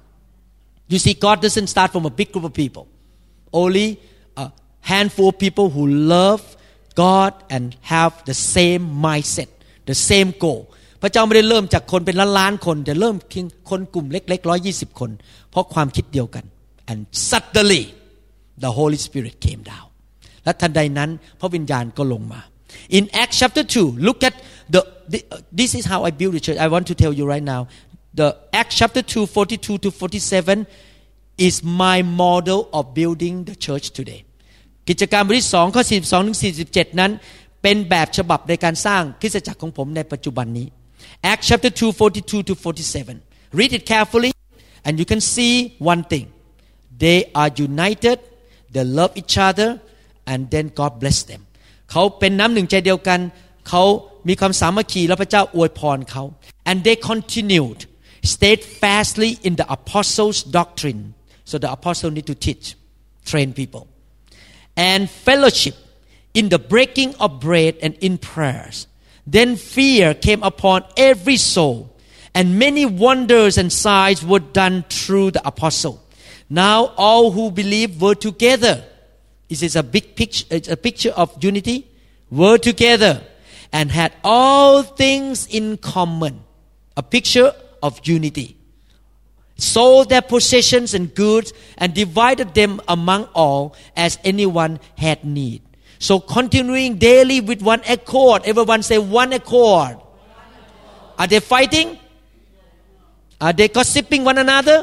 [SPEAKER 1] you see God doesn't start from a big group of people only a handful of people who love God and have the same mindset the same goal พระเจ้าไม่ได้เริ่มจากคนเป็นล้านๆคนแต่เริ่มเพียงคนกลุ่มเล็กๆหนึ่งร้อยยี่สิบคนเพราะความคิดเดียวกัน and suddenly the Holy Spirit came down และทันใดนั้นพระวิญญาณก็ลงมา in Acts chapter two look at the, the uh, this is how I build the church I want to tell you right now the Acts chapter two forty-two to forty-seven is my model of building the church today กิจการบทที่สองข้อสี่สิบสองถึงสี่สิบเจ็ดนั้นเป็นแบบฉบับในการสร้างคริสตจักรของผมในปัจจุบันนี้ Acts chapter two forty-two to forty-seven read it carefully and you can see one thing they are united they love each other and then God bless them เขาเป็นน้ำหนึ่งใจเดียวกันเขามีความสามัคคีและพระเจ้าอวยพรเขา and they continued steadfastly in the apostles' doctrine so the apostle need to teach train people and fellowship in the breaking of bread and in prayers then fear came upon every soul and many wonders and signs were done through the apostle now all who believed were together this is a big picture it's a picture of unity were together and had all things in common a picture of unity sold their possessions and goods and divided them among all as anyone had need so continuing daily with one accord everyone say one accord are they fighting are they gossiping one another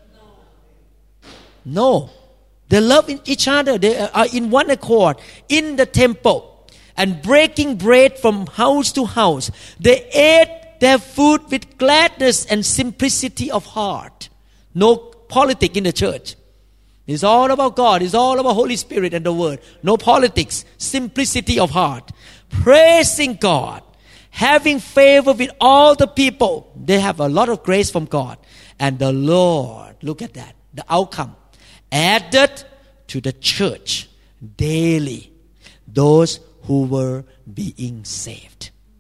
[SPEAKER 1] no they love each other they are in one accord in the temple and breaking bread from house to house they ate their food with gladness and simplicity of heart no politics in the church It's all about God. It's all about Holy Spirit and the Word. No politics. Simplicity of heart. Praising God. Having favor with all the people. They have a lot of grace from God. And the Lord, look at that, the outcome, added to the church daily those who were being saved.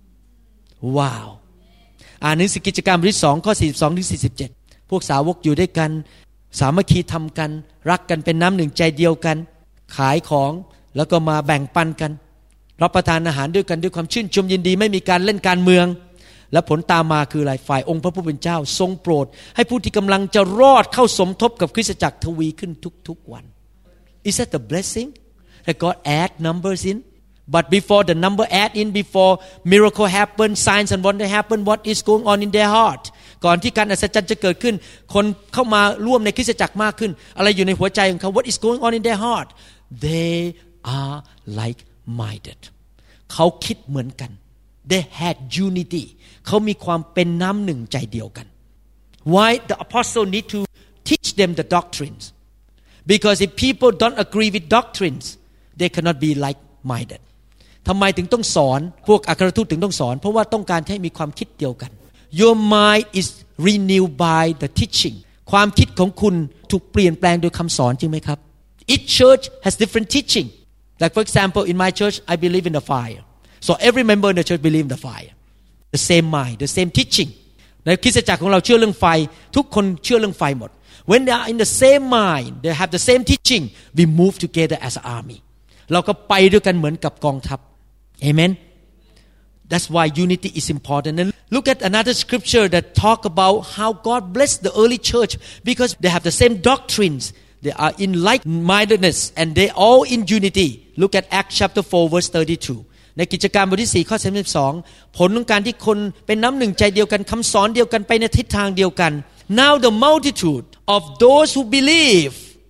[SPEAKER 1] Wow. อ่านหนังสือกิจการบทที่สองข้อสี่สิบสองถึงสี่สิบเจ็ดพวกสาวกอยู่ด้วยกันสามัคคีทำกันรักกันเป็นน้ำหนึ่งใจเดียวกันขายของแล้วก็มาแบ่งปันกันรับประทานอาหารด้วยกันด้วยความชื่นชมยินดีไม่มีการเล่นการเมืองและผลตามมาคืออะไรฝ่ายองค์พระผู้เป็นเจ้าทรงโปรดให้ผู้ที่กำลังจะรอดเข้าสมทบกับคริสตจักรทวีขึ้นทุกๆวัน Is that the blessing that God add numbers in but before the number add in before miracle happen signs and wonder happen what is going on in their heart ก่อนที่การอัศจรรย์จะเกิดขึ้นคนเข้ามาร่วมในคริสตจักรมากขึ้นอะไรอยู่ในหัวใจของเขา What is going on in their heart they are like minded เขาคิดเหมือนกัน they had unity เขามีความเป็นน้ำหนึ่งใจเดียวกัน why the apostle need to teach them the doctrines because if people don't agree with doctrines they cannot be like minded ทำไมถึงต้องสอนพวกอัครทูตถึงต้องสอนเพราะว่าต้องการให้มีความคิดเดียวกัน your mind is renewed by the teaching ความคิดของคุณถูกเปลี่ยนแปลงโดยคำสอนจริงไหมครับ each church has different teaching like for example in my church I believe in the fire so every member in the church believe in the fire the same mind the same teaching ในคริสตจักรของเราเชื่อเรื่องไฟทุกคนเชื่อเรื่องไฟหมด when they are in the same mind they have the same teaching we move together as an army เราก็ไปด้วยกันเหมือนกับกองทัพ amen that's why unity is important and look at another scripture that talk about how God blessed the early church because they have the same doctrines they are in like-mindedness and they all in unity look at Acts chapter four verse thirty-two ในกิจการบทที่สี่ข้อสามสิบสองผลของการที่คนเป็นน้ำหนึ่งใจเดียวกันคำสอนเดียวกันไปในทิศทางเดียวกัน now the multitude of those who believe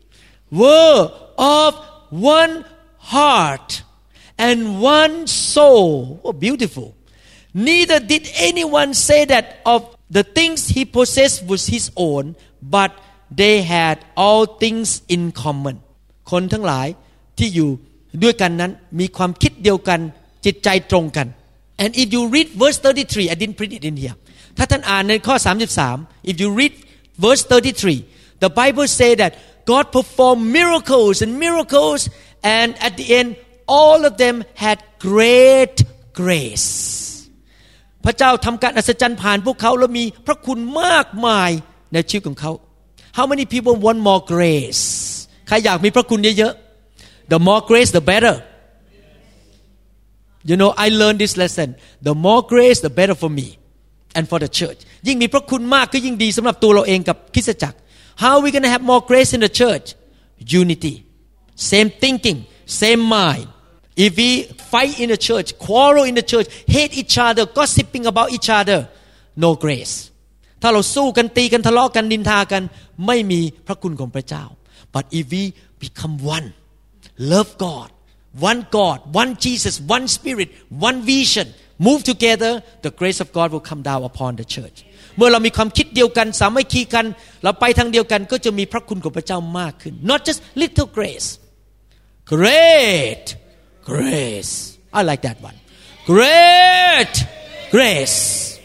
[SPEAKER 1] were of one heart and one soul oh beautiful neither did anyone say that of the things he possessed was his own but they had all things in common คนทั้งหลายที่อยู่ด้วยกันนั้นมีความคิดเดียวกันจิตใจตรงกัน and if you read verse thirty-three I didn't print it in here ถ้าท่านอ่านในข้อสามสิบสาม if you read verse thirty-three the Bible say that God performed miracles and miracles and at the end all of them had great grace พระเจ้าทำการอัศจรรย์ผ่านพวกเขาแล้วมีพระคุณมากมายในชีวิตของเขา How many people want more grace ใครอยากมีพระคุณเยอะๆ The more grace the better You know I learned this lesson The more grace the better for me and for the church ยิ่งมีพระคุณมากก็ยิ่งดีสำหรับตัวเราเองกับคริสตจักร How are we going to have more grace in the church Unity Same thinking Same mind If we fight in the church quarrel in the church hate each other gossiping about each other no grace ถ้าเราสู้กันตีกันทะเลาะกันนินทากันไม่มีพระคุณของพระเจ้า But if we become one love God one God one Jesus one Spirit one vision move together the grace of God will come down upon the church เมื่อเรามีความคิดเดียวกันสามัคคีกันเราไปทางเดียวกันก็จะมีพระคุณของพระเจ้ามากขึ้น Not just little grace Great grace I like that one Great grace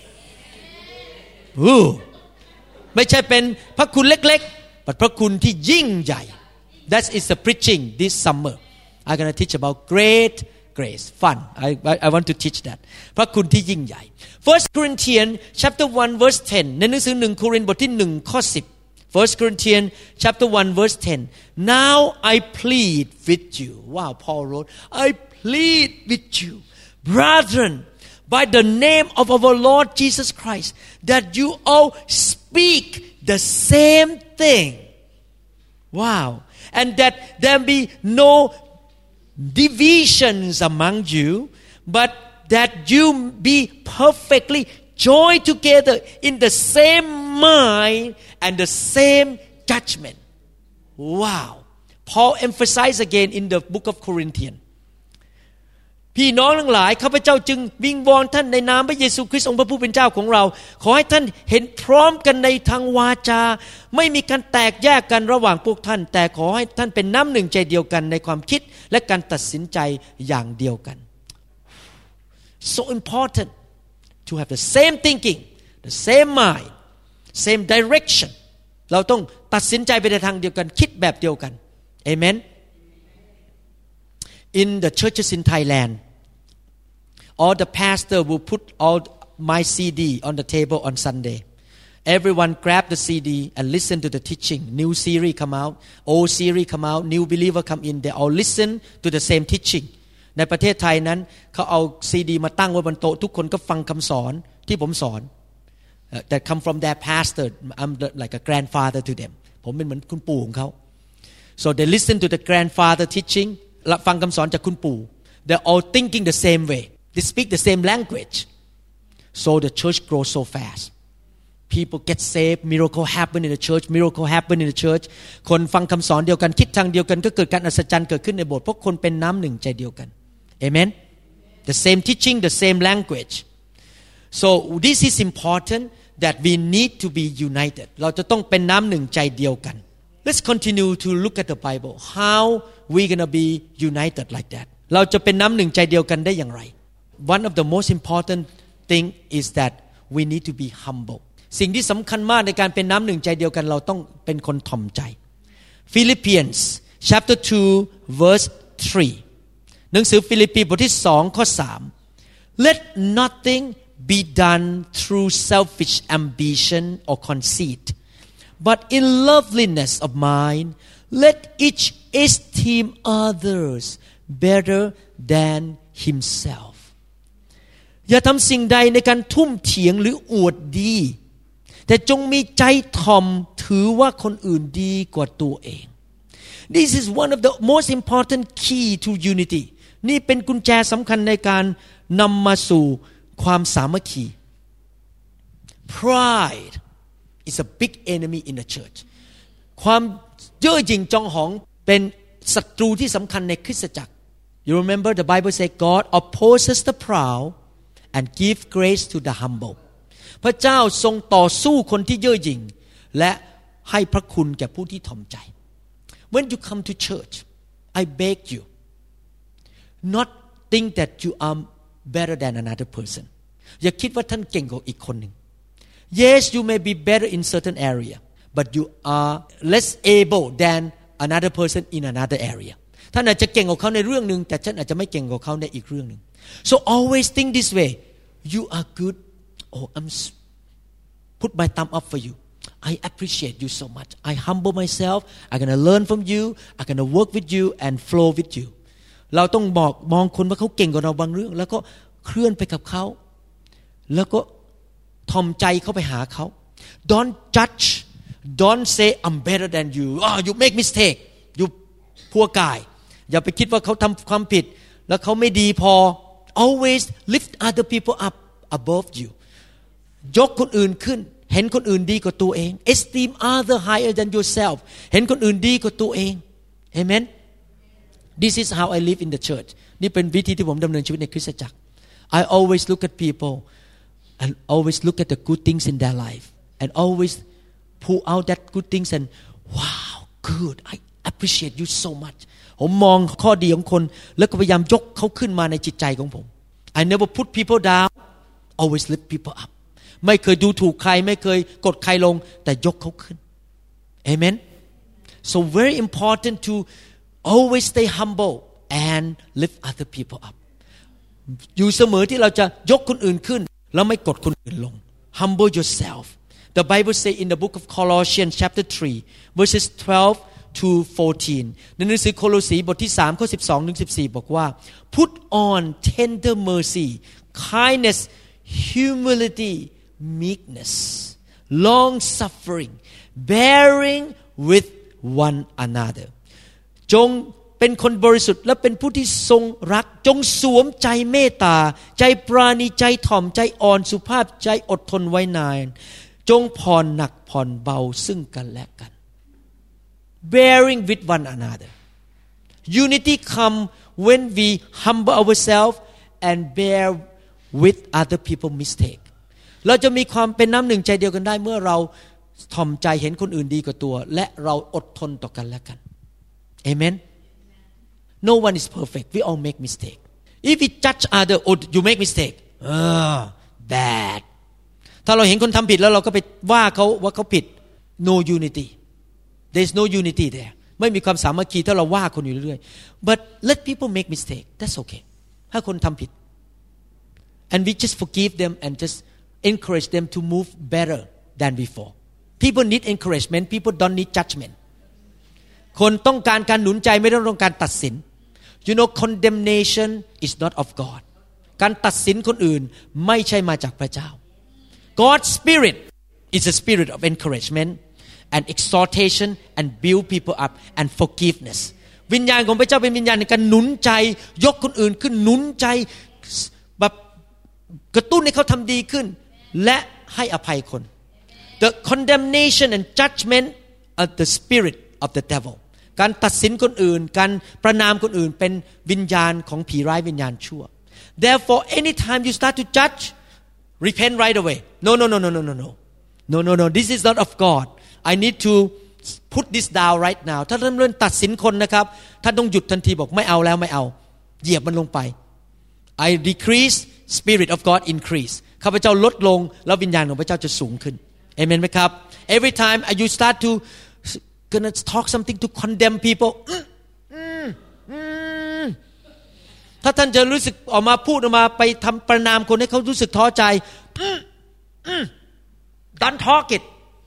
[SPEAKER 1] Ooh ไม่ใช่เป็นพระคุณเล็กๆแต่พระคุณที่ยิ่งใหญ่ That is the preaching this summer I'm going to teach about great grace fun I, I I want to teach that พระคุณที่ยิ่งใหญ่ First Corinthians chapter one verse ten ในหนังสือหนึ่งโครินธ์บทที่หนึ่งข้อสิบ First Corinthians chapter one verse ten Now I plead with you Wow Paul wrote I plead with you brethren by the name of our Lord Jesus Christ that you all speak the same thing Wow and that there be no divisions among you but that you be perfectly joined together in the same mind and the same judgment Wow Paul emphasized again in the book of Corinthians พี่น้องทั้งหลายข้าพเจ้าจึงวิงวอนท่านในนามพระเยซูคริสต์องค์พระผู้เป็นเจ้าของเราขอให้ท่านเห็นพร้อมกันในทางวาจาไม่มีการแตกแยกกันระหว่างพวกท่านแต่ขอให้ท่านเป็นน้ำหนึ่งใจเดียวกันในความคิดและการตัดสินใจอย่างเดียวกัน so important to have the same thinking the same mind same direction เราต้องตัดสินใจไปในทางเดียวกันคิดแบบเดียวกัน Amen In the churches in Thailand all the pastor will put all my C D on the table on Sunday everyone grab the C D and listen to the teaching new series come out old series come out new believer come in they all listen to the same teaching ในประเทศไทยนั้นเขาเอาซีดีมาตั้งไว้บนโต๊ะทุกคนก็ฟังคำสอนที่ผมสอน that come from their pastor I'm like a grandfather to them ผมเป็นเหมือนคุณปู่ของเขา so they listen to the grandfather teaching ฟังคำสอนจากคุณปู่ they're all thinking the same way they speak the same language so the church grows so fast people get saved miracle happen in the church miracle happen in the church คนฟังคำสอนเดียวกันคิดทางเดียวกันก็เกิดการอัศจรรย์เกิดขึ้นในโบสถ์เพราะคนเป็นน้ำหนึ่งใจเดียวกัน Amen the same teaching the same language so this is important that we need to be united เราจะต้องเป็นน้ำหนึ่งใจเดียวกัน let's continue to look at the Bible how we gonna be united like that เราจะเป็นน้ำหนึ่งใจเดียวกันได้อย่างไร one of the most important thing is that we need to be humble สิ่งที่สำคัญมากในการเป็นน้ำหนึ่งใจเดียวกันเราต้องเป็นคนถ่อมใจ Philippians chapter two verse three หนังสือฟิลิปปีบทที่สองข้อสาม Let nothing be done through selfish ambition or conceit but in loveliness of mind let each esteem others better than himself อย่าทำสิ่งใดในการทุ่มเถียงหรืออวดดีแต่จงมีใจถ่อมถือว่าคนอื่นดีกว่าตัวเอง This is one of the most important key to unity นี่เป็นกุญแจสำคัญในการนำมาสู่ความสามัคคี Pride is a big enemy in the church ความเย่อหยิ่งจองหองเป็นศัตรูที่สำคัญในคริสตจักร You remember the Bible says God opposes the proud and give grace to the humble พระเจ้าทรงต่อสู้คนที่เย่อหยิ่งและให้พระคุณแก่ผู้ที่ถ่อมใจ When you come to church I beg you not think that you are better than another person อย่าคิดว่าท่านเก่งกว่าอีกคนหนึ่ง Yes you may be better in certain area but you are less able than another person in another area ท่านอาจจะเก่งกว่าเขาในเรื่องนึงแต่ท่านอาจจะไม่เก่งกว่าเขาในอีกเรื่องนึง So always think this way you are good oh I'm put my thumb up for you I appreciate you so much I humble myself I'm gonna learn from you I'm gonna work with you and flow with you เราต้องบอกมองคนว่าเขาเก่งกว่าเราบางเรื่องแล้วก็เคลื่อนไปกับเขาแล้วก็ทอมใจเข้าไปหาเขา Don't judge Don't say I'm better than you oh you make mistake you poor guy อย่าไปคิดว่าเขาทำความผิดแล้วเขาไม่ดีพอ Always lift other people up above you ยกคนอื่นขึ้นเห็นคนอื่นดีกว่าตัวเอง Esteem other higher than yourself เห็นคนอื่นดีกว่าตัวเอง Amen This is how I live in the church นี่เป็นวิธีที่ผมดำเนินชีวิตในคริสตจักร I always look at people and always look at the good things in their life and always pull out that good things and wow good I appreciate you so much ผมมองข้อดีของคนแล้วก็พยายามยกเขาขึ้นมาในจิตใจของผม I never put people down always lift people up ไม่เคยดูถูกใครไม่เคยกดใครลงแต่ยกเขาขึ้น Amen so very important to always stay humble and lift other people up อยู่เสมอที่เราจะยกคนอื่นขึ้นแล้วไม่กดคนอื่นลง humble yourself the Bible say in the book of Colossians chapter three verses twelve to fourteen ในหนังสือโคโลสีบทที่สามข้อสิบสองถึงสิบสี่บอกว่า put on tender mercy kindness humility meekness long suffering bearing with one another จงเป็นคนบริสุทธิ์และเป็นผู้ที่ทรงรักจงสวมใจเมตตาใจปราณีใจถ่อมใจอ่อนสุภาพใจอดทนไว้นานจงผ่อนหนักผ่อนเบาซึ่งกันและกัน bearing with one another unity come when we humble ourselves and bear with other people's mistake เราจะมีความเป็นน้ำหนึ่งใจเดียวกันได้เมื่อเราถ่อมใจเห็นคนอื่นดีกว่าตัวและเราอดทนต่อกันและกัน Amen No one is perfect we all make mistake If we judge other oh you make mistake ah bad ถ้าเราเห็นคนทำผิดแล้วเราก็ไปว่าเขาว่าเขาผิด no unity there is no unity there ไม่มีความสามัคคีถ้าเราว่าคนอยู่เรื่อยๆ but let people make mistake that's okay ถ้าคนทำผิด and we just forgive them and just encourage them to move better than before people need encouragement people don't need judgment คนต้องการการหนุนใจไม่ต้องการตัดสิน you know condemnation is not of God การตัดสินคนอื่นไม่ใช่มาจากพระเจ้า God's spirit is a spirit of encouragement and exhortation and build people up and forgiveness วิญญาณของพระเจ้าเป็นวิญญาณในการหนุนใจยกคนอื่นขึ้นหนุนใจแบบกระตุ้นให้เขาทำดีขึ้นและให้อภัยคน The condemnation and judgment are the spirit of the devil การตัดสินคนอื่นการประณามคนอื่นเป็นวิญญาณของผีร้ายวิญญาณชั่ว Therefore anytime you start to judge repent right away no no no no no no no no no no this is not of God I need to put this down right now ถ้าท่านเริ่มตัดสินคนนะครับท่านต้องหยุดทันทีบอกไม่เอาแล้วไม่เอาเหยียบมันลงไป I decrease spirit of God increase ข้าพเจ้าลดลงแล้ววิญญาณของพระเจ้าจะสูงขึ้นเอเมนไหมครับ Every time you start to gonna talk something to condemn people ถ้าท่านจะรู้สึกออกมาพูดออกมาไปทำประณามคนให้เขารู้สึกท้อใจ Don't talk it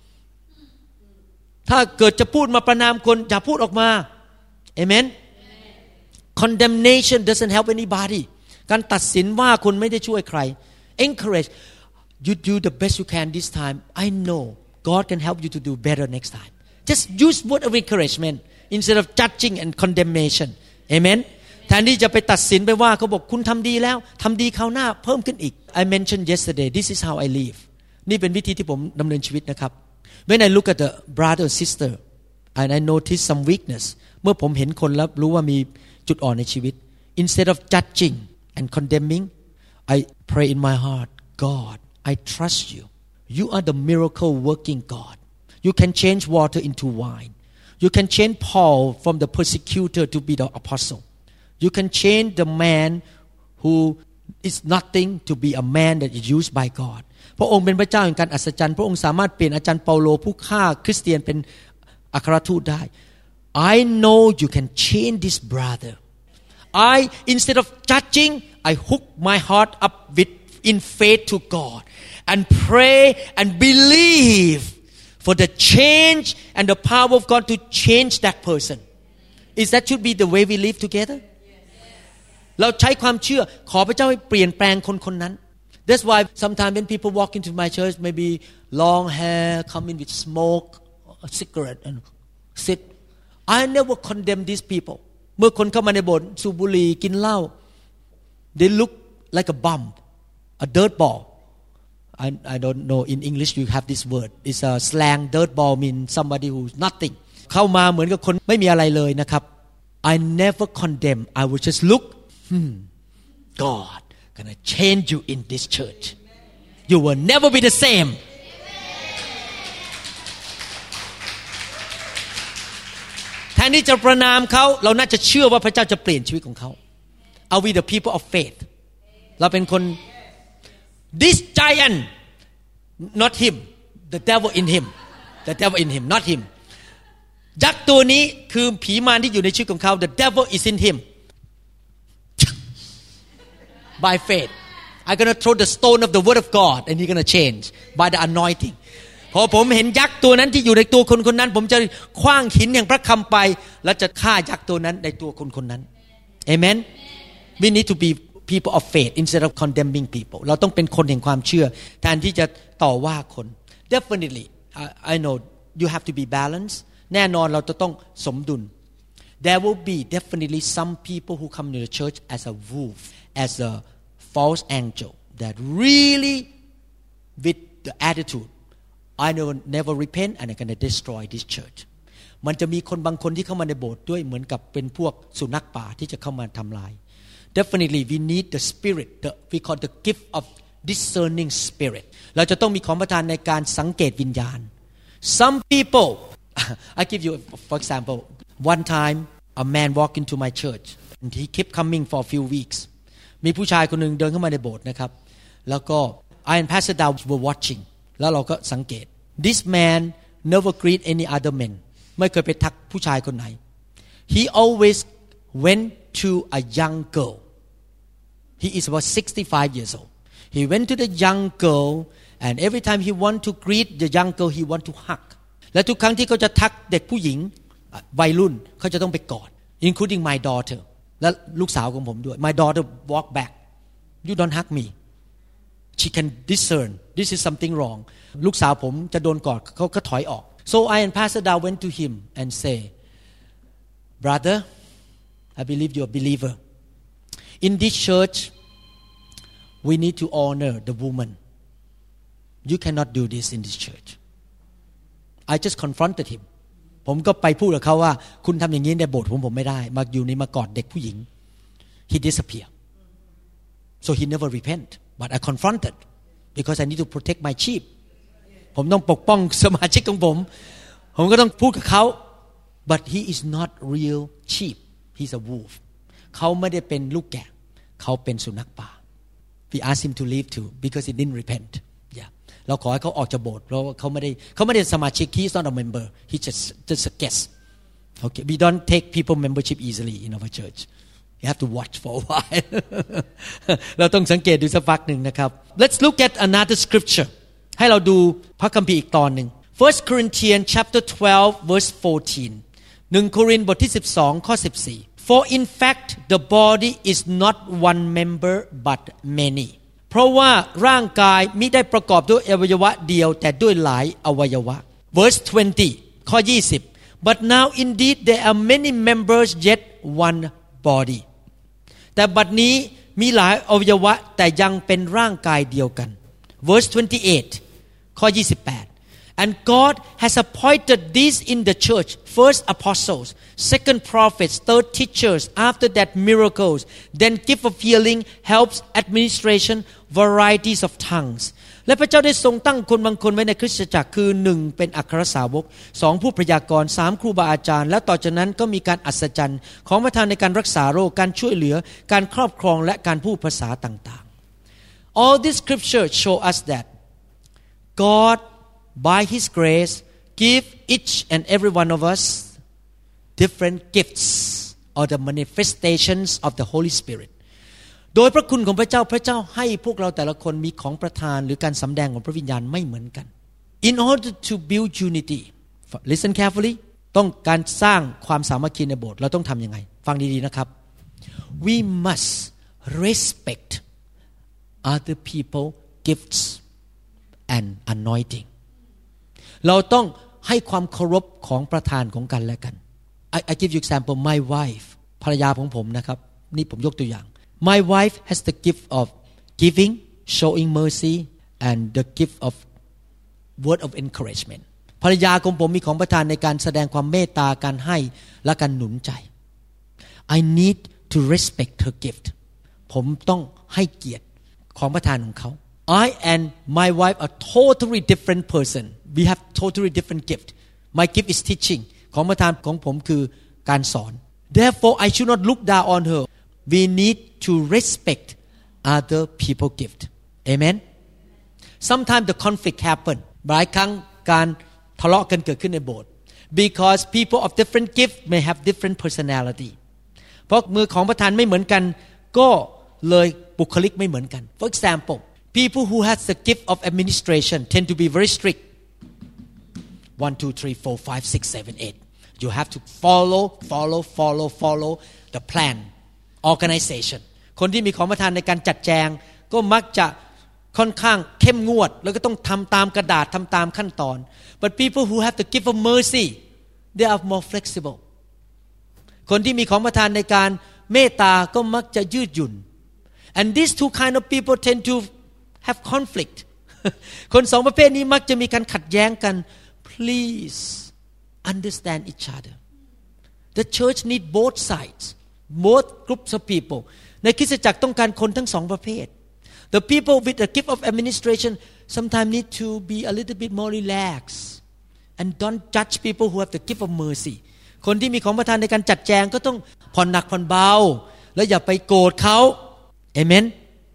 [SPEAKER 1] ถ้าเกิดจะพูดมาประณามคนอย่าพูดออกมาเอเมน Condemnation doesn't help anybody การตัดสินว่าคนไม่ได้ช่วยใคร Encourage you do the best you can this time I know God can help you to do better next time just use word of encouragement instead of judging and condemnation amen แทนที่จะไปตัดสินไปว่าเขาบอกคุณทำดีแล้วทำดีคราวหน้าเพิ่มขึ้นอีก I mentioned yesterday this is how I live นี่เป็นวิธีที่ผมดำเนินชีวิตนะครับ When I look at the brother or sister and I notice some weakness เมื่อผมเห็นคนแล้วรู้ว่ามีจุดอ่อนในชีวิต instead of judging and condemning I pray in my heart God I trust you you are the miracle working God you can change water into wine you can change Paul from the persecutor to be the apostle you can change the man who is nothing to be a man that is used by God พระองค์เป็นพระเจ้าแห่งการอัศจรรย์พระองค์สามารถเปลี่ยนอาจารย์เปาโลผู้ฆ่าคริสเตียนเป็นอัครทูตได้ I know you can change this brother I instead of judging I hook my heart up with in faith to God and pray and believe for the change and the power of God to change that person is that should be the way we live together เราใช้ความเชื่อขอพระเจ้าให้เปลี่ยนแปลงคนคนนั้น That's why sometimes when people walk into my church maybe long hair come in with smoke a cigarette and sit I never condemn these people เมื่อคนเข้ามาในโบสถ์สูบบุหรี่กินเหล้า they look like a bum a dirt ball I I don't know in English you have this word it's a slang dirt ball mean somebody who's nothing เข้ามาเหมือนกับคนไม่มีอะไรเลยนะครับ I never condemn I will just look hmm God gonna change you in this church you will never be the same แทนที่จะประณามเขาเราน่าจะเชื่อว่าพระเจ้าจะเปลี่ยนชีวิตของเขา Are we the people of faith เราเป็นคน This giant not him the devil in him the devil in him not him ยักษ์ตัวนี้คือผีมารที่อยู่ในชีวิตของเขา the devil is in him by faith I'm gonna throw the stone of the word of God and he's gonna change by the anointing พอผมเห็นยักษ์ตัวนั้นที่อยู่ในตัวคนคนนั้นผมจะขว้างหินแห่งพระคำไปและจะฆ่ายักษ์ตัวนั้นในตัวคนคนนั้น Amen we need to be people of faith instead of condemning people เราต้องเป็นคนแห่งความเชื่อแทนที่จะต่อว่าคน definitely I, I know you have to be balanced แน่นอนเราจะต้องสมดุล there will be definitely some people who come to the church as a wolf as a false angel that really with the attitude I never never repent and I'm going to destroy this church มันจะมีคนบางคนที่เข้ามาในโบสถ์ด้วยเหมือนกับเป็นพวกสุนัขป่าที่จะเข้ามาทำลาย Definitely we need the spirit the we call the gift of discerning spirit เราจะต้องมีของประทานในการสังเกตวิญญาณ Some people I give you for example one time a man walked into my church and he kept coming for a few weeks มีผู้ชายคนนึงเดินเข้ามาในโบสถ์นะครับแล้วก็ I and Pastor Dow were watching แล้วเราก็สังเกต This man never greet any other men ไม่เคยไปทักผู้ชายคนไหน He always went to a young girl He is about sixty-five years old He went to the young girl and every time he want to greet the young girl he want to hug และทุกครั้งที่เขาจะทักเด็กผู้หญิงวัยรุ่นเขาจะต้องไปกอด including my daughter และลูกสาวของผมด้วย My daughter walk back You don't hug me She can discern this is something wrong ลูกสาวผมจะโดนกอดเขาก็ถอยออก So I and Pastor Dow went to him and say Brother I believe you're a believer In this church we need to honor the woman You cannot do this in this church I just confronted him ผมก็ไปพูดกับเขาว่าคุณทำอย่างนี้ในโบสถ์ผมผมไม่ได้มาอยู่นี่มากอดเด็กผู้หญิง He disappeared so he never repent but I confronted because I need to protect my sheep ผมต้องปกป้องสมาชิกของผมผมก็ต้องพูดกับเขา but he is not real sheep he's a wolf เขาไม่ได้เป็นลูกแกะเขาเป็นสุนัขป่า we asked him to leave too because he didn't repent yeah เราขอให้เขาออกจากโบสถ์เพราะว่าเขาไม่ได้เขาไม่ได้สมาชิก he is not a member he just just a guest okay we don't take people membership easily in our church you have to watch for a while เราต้องสังเกตดูสักพักหนึ่งนะครับ let's look at another scripture ให้เราดูพระคัมภีร์อีกตอนหนึ่ง First Corinthians chapter twelve verse fourteen หนึ่งโครินธ์บทที่สิบสองข้อสิบสี่ For in fact the body is not one member but many เพราะว่าร่างกายมิได้ประกอบด้วยอวัยวะเดียวแต่ด้วยหลายอวัยวะ Verse twenty ข้อยี่สิบ But now indeed there are many members yet one body แต่บัดนี้มีหลายอวัยวะแต่ยังเป็นร่างกายเดียวกัน Verse twenty-eight ข้อยี่สิบแปด And God has appointed these in the church first apostles second prophets third teachers after that miracles then gift of healing helps administration varieties of tongues และพระเจ้าได้ทรงตั้งคนบางคนไว้ในคริสตจักรคือหนึ่งเป็นอัครสาวกสองผู้พยากรณ์สามครูบาอาจารย์และต่อจากนั้นก็มีการอัศจรรย์ของประทานในการรักษาโรคการช่วยเหลือการครอบครองและการพูดภาษาต่างๆ All these scriptures show us that God by His grace give each and every one of us different gifts or the manifestations of the Holy Spiritโดยพระคุณของพระเจ้าพระเจ้าให้พวกเราแต่ละคนมีของประทานหรือการสำแดงของพระวิญญาณไม่เหมือนกัน In order to build unity listen carefully ต้องการสร้างความสามัคคีในโบสถ์เราต้องทำยังไงฟังดีๆนะครับ We must respect other people gifts and anointing เราต้องให้ความเคารพของประทานของกันและกัน I, I give you example my wife ภรรยาของผมนะครับนี่ผมยกตัวอย่างMy wife has the gift of giving, showing mercy, and the gift of word of encouragement. ภรรยาของผมมีของประทานในการแสดงความเมตตาการให้และการหนุนใจ I need to respect her gift. ผมต้องให้เกียรติของประทานของเขา I and my wife are totally different person. We have totally different gift. My gift is teaching. ของประทานของผมคือการสอน Therefore, I should not look down on her.We need to respect other people's gift. Amen. Sometimes the conflict happen. หลายครั้งการทะเลาะกันเกิดขึ้นในโบสถ์ because people of different gift may have different personality. เพราะมือของประธานไม่เหมือนกันก็เลยบุคลิกไม่เหมือนกัน For example, people who has the gift of administration tend to be very strict. One, two, three, four, five, six, seven, eight. You have to follow, follow, follow, follow the plan.organization คนที่มีของประทานในการจัดแจงก็มักจะค่อนข้างเข้มงวดแล้วก็ต้องทำตามกระดาษทำตามขั้นตอน but people who have the gift of mercy they are more flexible คนที่มีของประทานในการเมตตาก็มักจะยืดหยุ่น and these two kind of people tend to have conflict คนสองประเภทนี้มักจะมีการขัดแย้งกัน please understand each other. The church need both sides, both groups of people. ในคริสตจักรต้องการคนทั้งสองประเภท The people with the gift of administration sometimes need to be a little bit more relaxed and don't judge people who have the gift of mercy. คนที่มีของประทานในการจัดแจงก็ต้องผ่อนหนักผ่อนเบาและอย่าไปโกรธเขา Amen.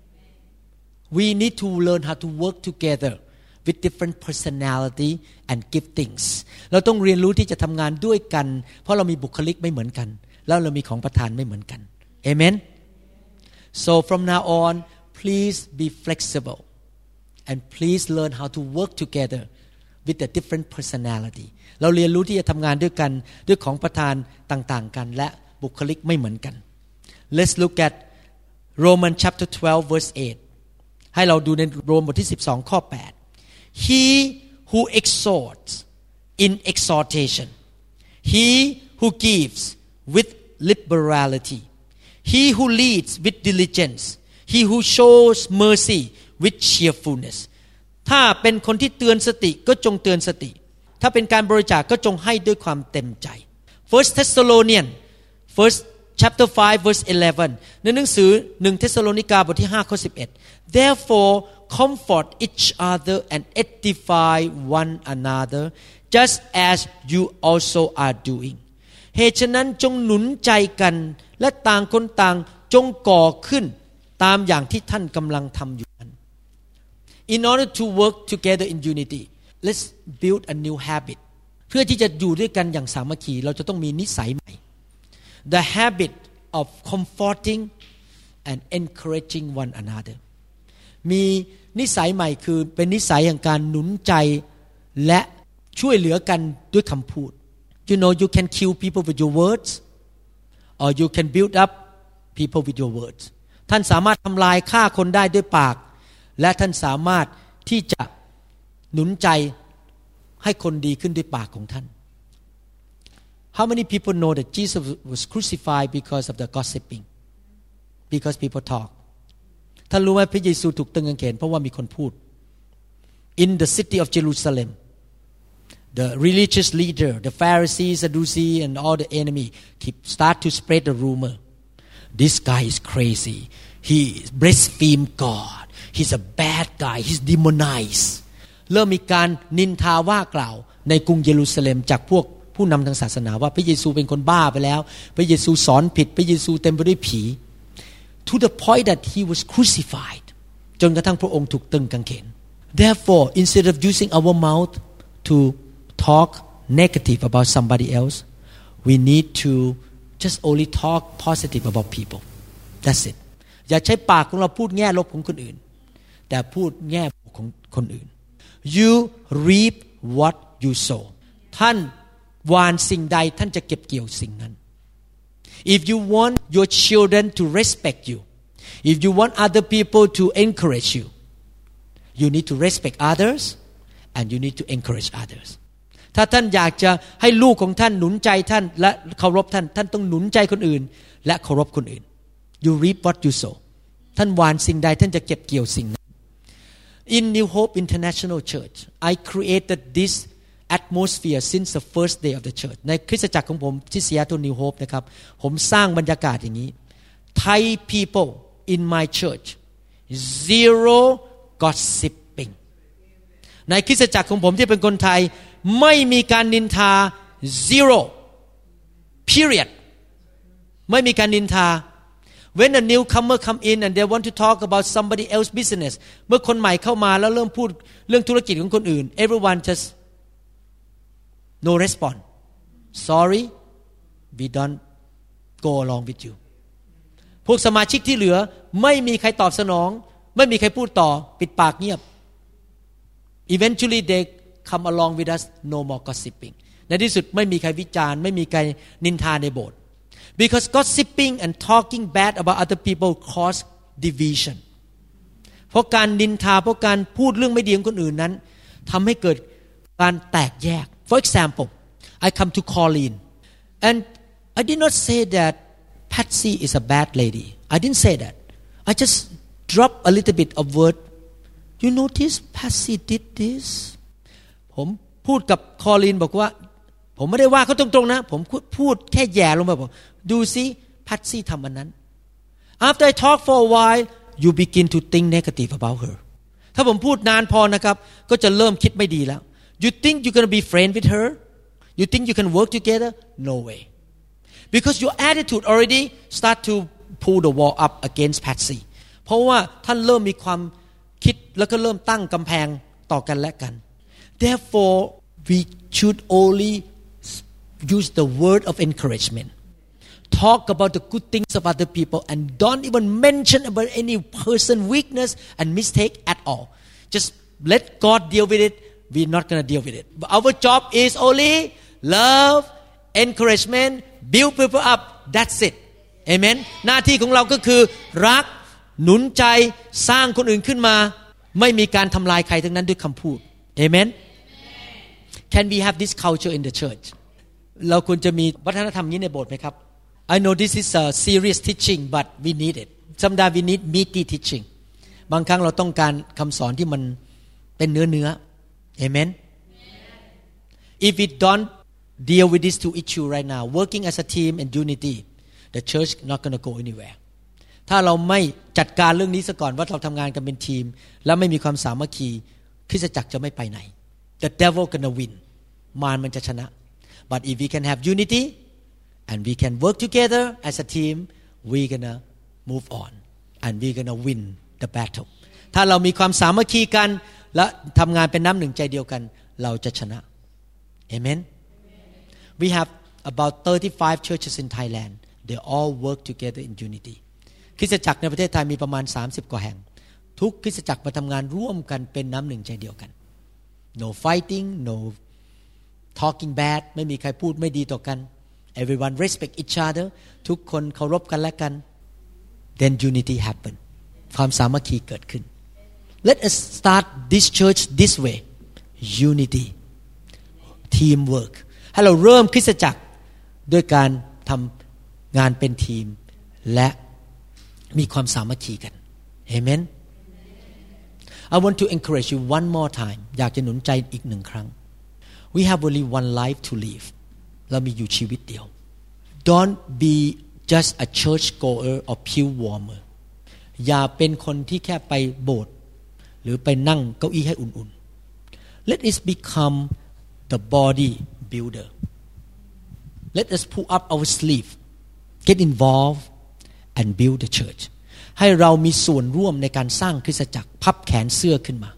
[SPEAKER 1] We need to learn how to work together with different personality and giftings. เราต้องเรียนรู้ที่จะทำงานด้วยกันเพราะเรามีบุคลิกไม่เหมือนกันแล้วเรามีของประทานไม่เหมือนกัน Amen. So from now on, please be flexible and please learn how to work together with the different personality. เราเรียนรู้ที่จะทำงานด้วยกันด้วยของประทานต่างๆกันและบุคลิกไม่เหมือนกัน Let's look at Romans chapter twelve verse eight. ให้เราดูในโรมบทที่สิบสองข้อแปด He who exhorts in exhortation, he who gives with liberality, he who leads with diligence, he who shows mercy with cheerfulness. ถ้าเป็นคนที่เตือนสติก็จงเตือนสติถ้าเป็นการบริจาคก็จงให้ด้วยความเต็มใจ First Thessalonians First chapter five verse eleven ในหนังสือหนึ่งเธสสโลนิกาบทที่ห้าข้อสิบเอ็ด Therefore comfort each other and edify one another just as you also are doing เหตุฉะนั้นจงหนุนใจกันและต่างคนต่างจงก่อขึ้นตามอย่างที่ท่านกำลังทำอยู่นั้น In order to work together in unity let's build a new habit เพื่อที่จะอยู่ด้วยกันอย่างสามัคคีเราจะต้องมีนิสัยใหม่ The habit of comforting and encouraging one another มีนิสัยใหม่คือเป็นนิสัยแห่งการหนุนใจและช่วยเหลือกันด้วยคำพูด You know you can kill people with your words or you can build up people with your words ท่านสามารถทำลายฆ่าคนได้ด้วยปากและท่านสามารถที่จะหนุนใจให้คนดีขึ้นด้วยปากของท่าน How many people know that Jesus was crucified because of the gossiping because people talk ท่านรู้ไหมพระเยซูถูกตึงกางเขนเพราะว่ามีคนพูด In the city of Jerusalem the religious leader the Pharisees Sadducees and all the enemy keep start to spread the rumor This guy is crazy he blaspheme God he's a bad guy he's demonizedเริ่มมีการนินทาว่ากล่าวในกรุงเยรูซาเล็มจากพวกผู้นำทางศาสนาว่าพระเยซูเป็นคนบ้าไปแล้วพระเยซูสอนผิดพระเยซูเต็มไปด้วยผี to the point that he was crucified จนกระทั่งพระองค์ถูกตึงกางเขน therefore instead of using our mouth to talk negative about somebody else we need to just only talk positive about people that's it อย่าใช้ปากของเราพูดแง่ลบของคนอื่นแต่พูดแง่บวกของคนอื่นYou reap what you sow ท่านหว่านสิ่งใดท่านจะเก็บเกี่ยวสิ่งนั้น If you want your children to respect you if you want other people to encourage you you need to respect others and you need to encourage others ถ้าท่านอยากจะให้ลูกของท่านหนุนใจท่านและเคารพท่านท่านต้องหนุนใจคนอื่นและเคารพคนอื่น You reap what you sow ท่านหว่านสิ่งใดท่านจะเก็บเกี่ยวสิ่งนั้นIn New Hope International Church, I created this atmosphere since the first day of the church. ในคริสตจักรของผมที่ Seattle New Hope นะครับผมสร้างบรรยากาศอย่างนี้ Thai people in my church zero gossiping. ในคริสตจักรของผมที่เป็นคนไทยไม่มีการนินทา zero period ไม่มีการนินทาWhen a newcomer come in and they want to talk about somebody else business เมื่อคนใหม่เข้ามาแล้วเริ่มพูดเรื่องธุรกิจของคนอื่น everyone just no response sorry we don't go along with you พวกสมาชิกที่เหลือไม่มีใครตอบสนองไม่มีใครพูดต่อปิดปากเงียบ eventually they come along with us no more gossiping ในที่สุดไม่มีใครวิจารณ์ไม่มีใครนินทาในโบสถ์Because gossiping and talking bad about other people cause division เพราะการนินทาเพราะการพูดเรื่องไม่ดีของคนอื่นนั้นทำให้เกิดการแตกแยก For example I come to Colleen and I did not say that Patsy is a bad lady I didn't say that I just drop a little bit of word You notice Patsy did this ผมพูดกับ Colleen บอกว่าผมไม่ได้ว่าเขาตรงๆนะผมพูดแค่แย่ลงไปบอกดูซิแพทซี่ทำอันนั้น after I talk for a while you begin to think negative about her ถ้าผมพูดนานพอนะครับก็จะเริ่มคิดไม่ดีแล้ว you think you're gonna be friend with her you think you can work together no way because your attitude already start to pull the wall up against Patsy เพราะว่าท่านเริ่มมีความคิดแล้วก็เริ่มตั้งกำแพงต่อกันและกัน therefore we should only use the word of encouragement talk about the good things of other people and don't even mention about any person weakness and mistake at all just let God deal with it we're not going to deal with it but our job is only love encouragement build people up that's it amen หน้าที่ของเราก็คือรักหนุนใจสร้างคนอื่นขึ้นมาไม่มีการทำลายใครทั้งนั้นด้วยคำพูด amen can we have this culture in the church เราควรจะมีวัฒนธรรมนี้ในโบสถ์ไหมครับ I know this is a serious teaching but we need it sometimes we need meaty teaching บางครั้งเราต้องการคำสอนที่มันเป็นเนื้อเนื้อ amen if we don't deal with these two issues right now working as a team and unity the church not going to go anywhere ถ้าเราไม่จัดการเรื่องนี้ซะก่อนว่าเราทำงานกันเป็นทีมแล้วไม่มีความสามัคคีคริสตจักรจะไม่ไปไหน the devil gonna win มารมันจะชนะ but if we can have unity and we can work together as a team we gonna move on and we gonna win the battle ถ้าเรามีความสามัคคีกันและทำงานเป็นน้ำหนึ่งใจเดียวกันเราจะชนะ amen we have about thirty-five churches in Thailand they all work together in unity คริสตจักรในประเทศไทยมีประมาณสามสิบกว่าแห่งทุกคริสตจักรมาทำงานร่วมกันเป็นน้ำหนึ่งใจเดียวกัน no fighting no talking bad ไม่มีใครพูดไม่ดีต่อกัน everyone respect each other ทุกคนเคารพกันและกัน then unity happen ความสามัคคีเกิดขึ้น let us start this church this way unity teamwork ให้เราเริ่มคริสตจักรด้วยการทำงานเป็นทีมและมีความสามัคคีกัน Amen I want to encourage you one more time อยากจะหนุนใจอีกหนึ่งครั้ง We have only one life to live เรามีอยู่ชีวิตเดียว Don't be just a church goer or pew warmer อย่าเป็นคนที่แค่ไปโบสถ์หรือไปนั่งเก้าอี้ให้อุ่นๆ Let us become the body builder Let us pull up our sleeve get involved and build the church ให้เรามีส่วนร่วมในการสร้างคริสตจักรพับแขนเสื้อขึ้นมา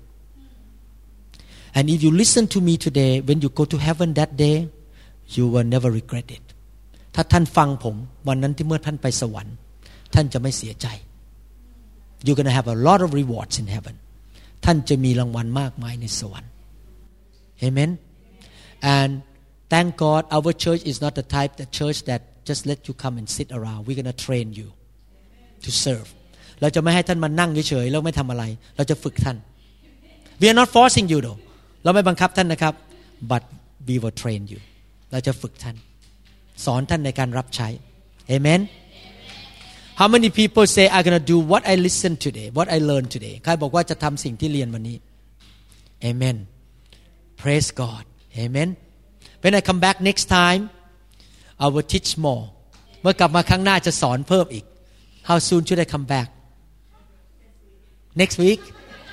[SPEAKER 1] and if you listen to me today when you go to heaven that day you will never regret it ถ้าท่านฟังผมวันนั้นที่เมื่อท่านไปสวรรค์ท่านจะไม่เสียใจ you're gonna have a lot of rewards in heaven ท่านจะมีรางวัลมากมายในสวรรค์ amen and thank God our church is not the type the church that just let you come and sit around we're gonna train you to serve เราจะไม่ให้ท่านมานั่งเฉยๆแล้วไม่ทำอะไรเราจะฝึกท่าน we are not forcing you though เราไม่บังคับท่านนะครับ but we will train you เราจะฝึกท่านสอนท่านในการรับใช้ amen how many people say I'm gonna do what I listen today what I learn today ใครบอกว่าจะทำสิ่งที่เรียนวันนี้ amen praise God amen when I come back next time I will teach more เมื่อกลับมาครั้งหน้าจะสอนเพิ่มอีก How soon should I come back next week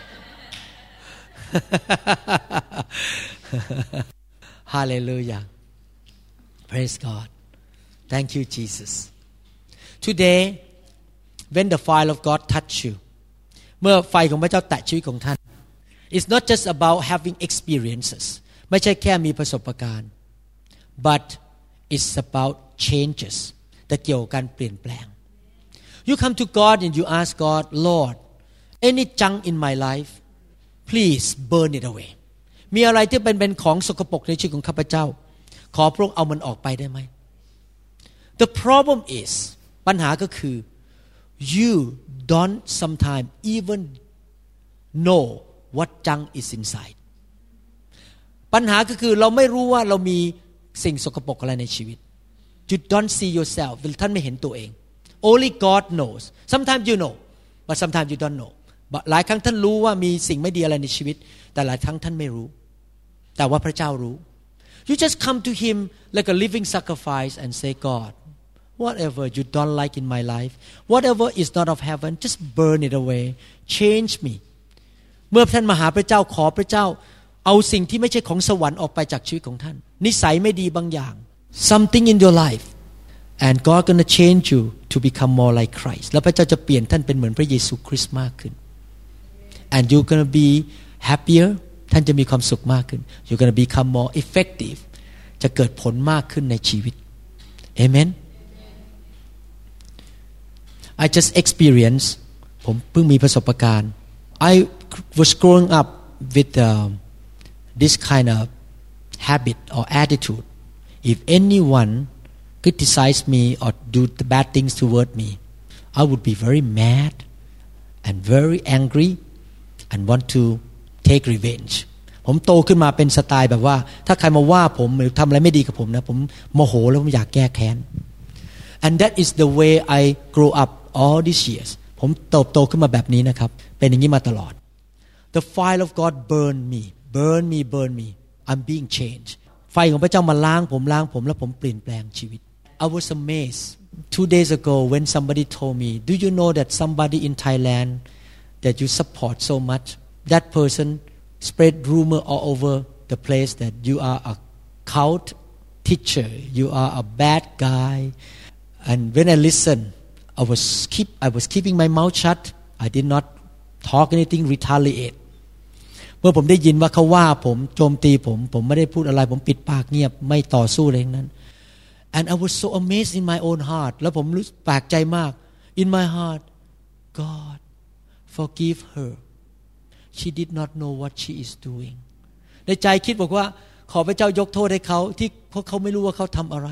[SPEAKER 1] Hallelujah praise God thank you Jesus today when the fire of God touch you เมื่อไฟของพระเจ้าแตะชีวิตของท่าน It's not just about having experiences ไม่ใช่แค่มีประสบการณ์ but it's about changes แต่เกี่ยวกับการเปลี่ยนแปลง You come to God and you ask God Lord any junk in my life please burn it away มีอะไรที่เป็นเป็นของสกปรกในชีวิตของข้าพเจ้าขอพระองค์เอามันออกไปได้ไหม The problem is ปัญหาก็คือ you don't sometimes even know what junk is inside ปัญหาก็คือเราไม่รู้ว่าเรามีสิ่งสกปรกอะไรในชีวิต You don't see yourself ท่านไม่เห็นตัวเอง Only God knows sometimes you know but sometimes you don't know หลายครั้งท่านรู้ว่ามีสิ่งไม่ดีอะไรในชีวิตแต่หลายครั้งท่านไม่รู้แต่ว่าพระเจ้ารู้ You just come to Him like a living sacrifice and say, God, whatever you don't like in my life, whatever is not of heaven, just burn it away. Change me. เมื่อท่านมาหาพระเจ้าขอพระเจ้าเอาสิ่งที่ไม่ใช่ของสวรรค์ออกไปจากชีวิตของท่านนิสัยไม่ดีบางอย่าง something in your life and God gonna change you to become more like Christ แล้วพระเจ้าจะเปลี่ยนท่านเป็นเหมือนพระเยซูคริสต์มากขึ้น and you gonna be happier ท่านจะมีความสุขมากขึ้น you gonna become more effective จะเกิดผลมากขึ้นในชีวิต Amen I just experienced ผมเพิ่งมีประสบการณ์ I was growing up with uh, this kind of habit or attitude. If anyone criticized me or do the bad things toward me, I would be very mad and very angry and want to take revenge. ผมโตขึ้นมาเป็นสไตล์แบบว่าถ้าใครมาว่าผมหรือทำอะไรไม่ดีกับผมนะผมโมโหแล้วผมอยากแก้แค้น And that is the way I grew up all these years. ผมเติบโตขึ้นมาแบบนี้นะครับเป็นอย่างนี้มาตลอด The fire of God burn me, burn me, burn me. I'm being changed. ไฟของพระเจ้ามาล้างผมล้างผมแล้วผมเปลี่ยนแปลงชีวิต I was amazed two days ago when somebody told me, do you know that somebody in Thailand that you support so much, that person spread rumor all over the place that you are a cult teacher, you are a bad guy. And when I listened, I was keep I was keeping my mouth shut. I did not talk anything, retaliate. เมื่อผมได้ยินว่าเขาว่าผมโจมตีผมผมไม่ได้พูดอะไรผมปิดปากเงียบไม่ต่อสู้อะไรทั้งนั้น and I was so amazed in my own heart แล้วผมรู้แปลกใจมาก in my heart God forgive her she did not know what she is doing ในใจคิดบอกว่าขอพระเจ้ายกโทษให้เขาที่เพราะเขาไม่รู้ว่าเขาทำอะไร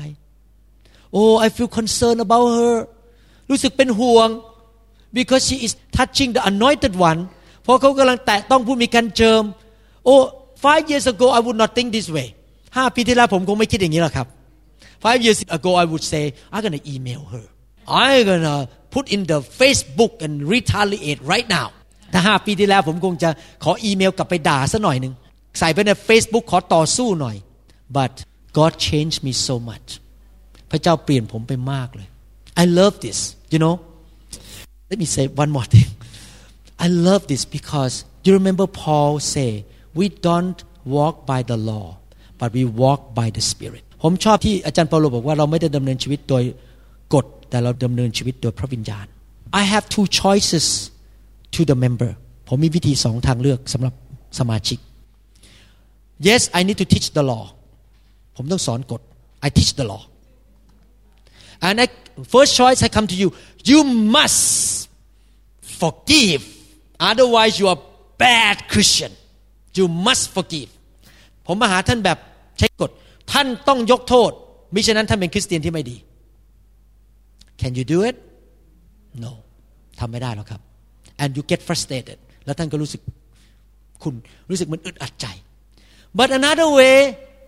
[SPEAKER 1] oh I feel concerned about her รู้สึกเป็นห่วง because she is touching the anointed oneเพราะเขากำลังแตะต้องผู้มีการเจิม oh five years ago I would not think this way ห้าปีที่แล้วผมคงไม่คิดอย่างนี้หรอกครับ five years ago I would say I'm gonna email her I'm gonna put in the Facebook and retaliate right now ถ้าห้าปีที่แล้วผมคงจะขออีเมลกลับไปด่าซะหน่อยนึงใส่ไปใน Facebook ขอต่อสู้หน่อย but God changed me so much พระเจ้าเปลี่ยนผมไปมากเลย I love this you know let me say one more thing I love this because you remember Paul say we don't walk by the law but we walk by the Spirit ผมชอบที่อาจารย์เปาโลบอกว่าเราไม่ได้ดำเนินชีวิตโดยกฎแต่เราดำเนินชีวิตโดยพระวิญญาณ I have two choices to the member ผมมีวิธีสองทางเลือกสำหรับสมาชิก Yes I need to teach the law ผมต้องสอนกฎ I teach the law and I, first choice I come to you you must forgive otherwise you are bad Christian you must forgive ผมมาหาท่านแบบใช้กฎท่านต้องยกโทษมิฉะนั้นท่านเป็นคริสเตียนที่ไม่ดี Can you do it No ทำไม่ได้หรอกครับ and you get frustrated แล้วท่านก็รู้สึกคุณรู้สึกมันอึดอัดใจ but another way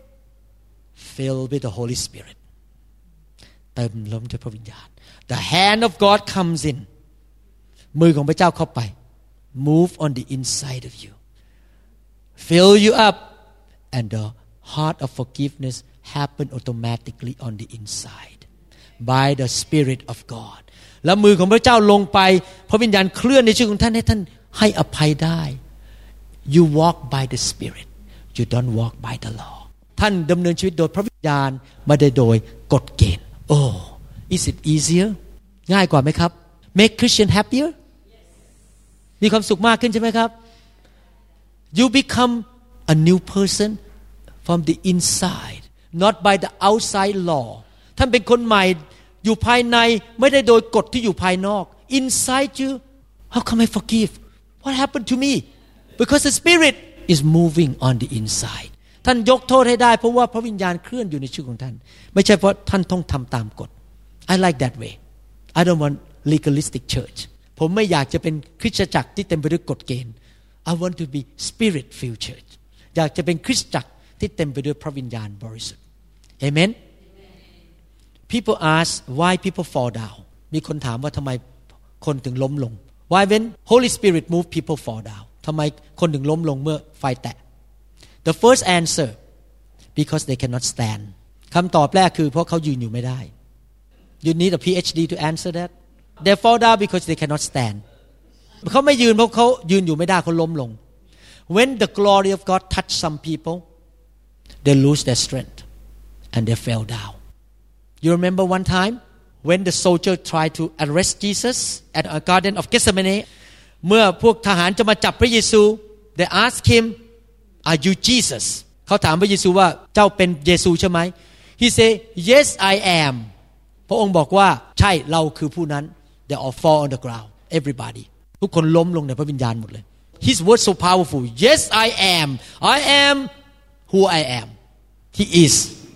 [SPEAKER 1] filled with the Holy Spirit เติมล้มด้วยพระวิญญาณ the hand of God comes in มือของพระเจ้าเข้าไป move on the inside of you fill you up and the heart of forgiveness happen automatically on the inside by the Spirit of God แล้วมือของพระเจ้าลงไปพระวิญญาณเคลื่อนในชีวิตของท่านให้ท่านให้อภัยได้ you walk by the Spirit you don't walk by the law ท่านดำเนินชีวิตโดยพระวิญญาณไม่ได้โดยกฎเกณฑ์ oh is it easier ง่ายกว่าไหมครับ make Christian happier มีความสุขมากขึ้นใช่ไหมครับ you become a new person from the inside not by the outside law ท่านเป็นคนใหม่อยู่ภายในไม่ได้โดยกฎที่อยู่ภายนอก inside you how come I forgive what happened to me because the Spirit is moving on the inside ท่านยกโทษให้ได้เพราะว่าพระวิญญาณเคลื่อนอยู่ในชีวิตของท่านไม่ใช่เพราะท่านต้องทำตามกฎ I like that way I don't want legalistic church ผมไม่อยากจะเป็นคริสตจักรที่เต็มไปด้วยกฎเกณฑ์ I want to be Spirit filled church อยากจะเป็นคริสตจักรที่เต็มไปด้วยพระวิญญาณบริสุทธิ์ Amen People ask why people fall down มีคนถามว่าทำไมคนถึงล้มลง Why when Holy Spirit move people fall down ทำไมคนถึงล้มลงเมื่อไฟแตะ The first answer because they cannot stand คำตอบแรกคือเพราะเขายืนอยู่ไม่ได้ You need a PhD to answer that They fall down because they cannot stand เขาไม่ยืนเพราะเขายืนอยู่ไม่ได้เขาล้มลง When the glory of God touch some people they lose their strength and they fell down You remember one time when the soldier tried to arrest Jesus at a garden of Gethsemane เมื่อพวกทหารจะมาจับพระเยซู they asked him Are you Jesus เขาถามพระเยซูว่าเจ้าเป็นเยซูใช่ไหม He said Yes I am พระองค์บอกว่าใช่เราคือผู้นั้น They all fall on the ground everybody ทุกคนล้มลงในพระวิญญาณหมดเลย His word so powerful Yes I am I am who I am He is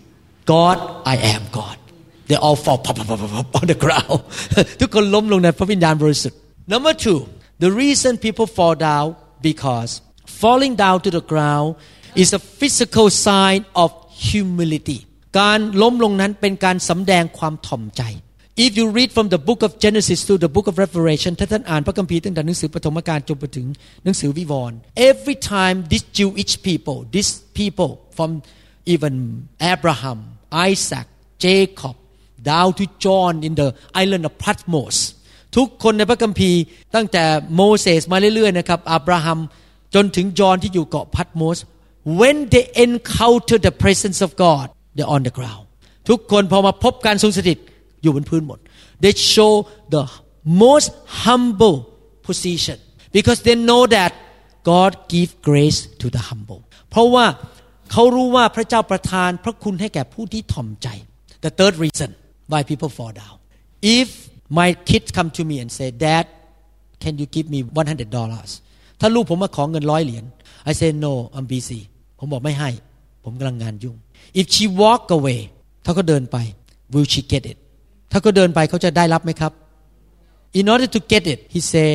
[SPEAKER 1] God I am God They all fall pop, pop, pop, pop, on the ground ทุกคนล้มลงในพระวิญญาณบริสุทธิ์ Number two the reason people fall down because falling down to the ground is a physical sign of humility การล้มลงนั้นเป็นการสำแดงความถ่อมใจ If you read from the book of Genesis to the book of Revelation ถ้าท่านอ่านพระคัมภีร์ตั้งแต่หนังสือปฐมกาลจนไปถึงหนังสือวิวรณ์ Every time these Jewish people these people from even Abraham Isaac Jacob down to John in the island of Patmos ทุกคนในพระคัมภีร์ตั้งแต่โมเสสมาเรื่อยๆนะครับอับราฮัมจนถึงจอห์นที่อยู่เกาะพัตโมส when they encounter the presence of God they're on the ground ทุกคนพอมาพบการทรงสถิตอยู่บนพื้นหมด they show the most humble position because they know that God give grace to the humble เพราะว่าเขารู้ว่าพระเจ้าประทานพระคุณให้แก่ผู้ที่ถ่อมใจ the third reason why people fall down if my kids come to me and say Dad can you give me one hundred dollars ถ้าลูกผมมาขอเงินร้อยเหรียญ I say no I'm busy ผมบอกไม่ให้ผมกำลังงานยุ่ง if she walk away ถ้าเขาเดินไป will she get it ถ้าเขาเดินไปเขาจะได้รับไหมครับ in order to get it he say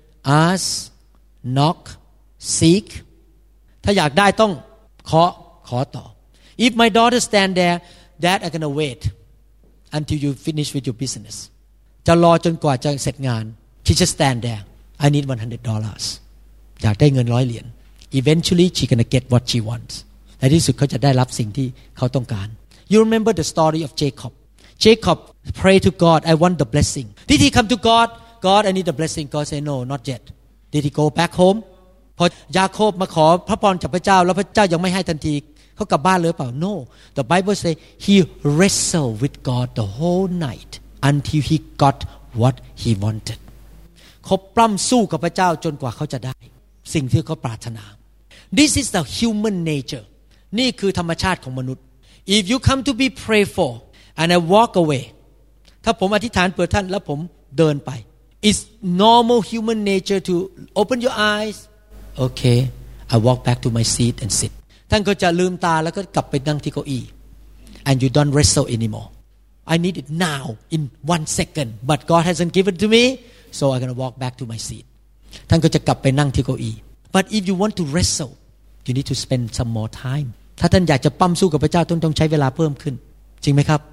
[SPEAKER 1] ask knock seek ถ้าอยากได้ต้องขอขอต่อ if my daughter stand there Dad I'm gonna wait until you finish with your business จะรอจนกว่าจะเสร็จงาน she just stand there I need one hundred dollars อยากได้เงินร้อยเหรียญ eventually she gonna get what she wants ในที่สุดเขาจะได้รับสิ่งที่เขาต้องการ you remember the story of Jacob Jacob pray to God I want the blessing did he come to God God I need the blessing God say no not yet did he go back home พอยาโคบมาขอพระพรจากพระเจ้าแล้วพระเจ้ายังไม่ให้ทันทีเขากลับบ้านเลยเปล่า No the Bible say he wrestled with God the whole night until he got what he wanted เขาปล้ำสู้กับพระเจ้าจนกว่าเขาจะได้สิ่งที่เขาปรารถนา This is the human nature นี่คือธรรมชาติของมนุษย์ If you come to be prayed for and I walk away ถ้าผมอธิษฐานเผื่อท่านแล้วผมเดินไป It's normal human nature to open your eyes Okay I walk back to my seat and sitท่านก็จะลืมตาแล้วก็กลับไปนั่งที่เก้าอี้ and you don't wrestle anymore I need it now in one second but God hasn't given to me so I'm gonna walk back to my seat ท่านก็จะกลับไปนั่งที่เก้าอี้ but if you want to wrestle you need to spend some more time ถ้าท่านอยากจะปั้มสู้กับพระเจ้าต้องต้องใช้เวลาเพิ่มขึ้นจริงไหมครับ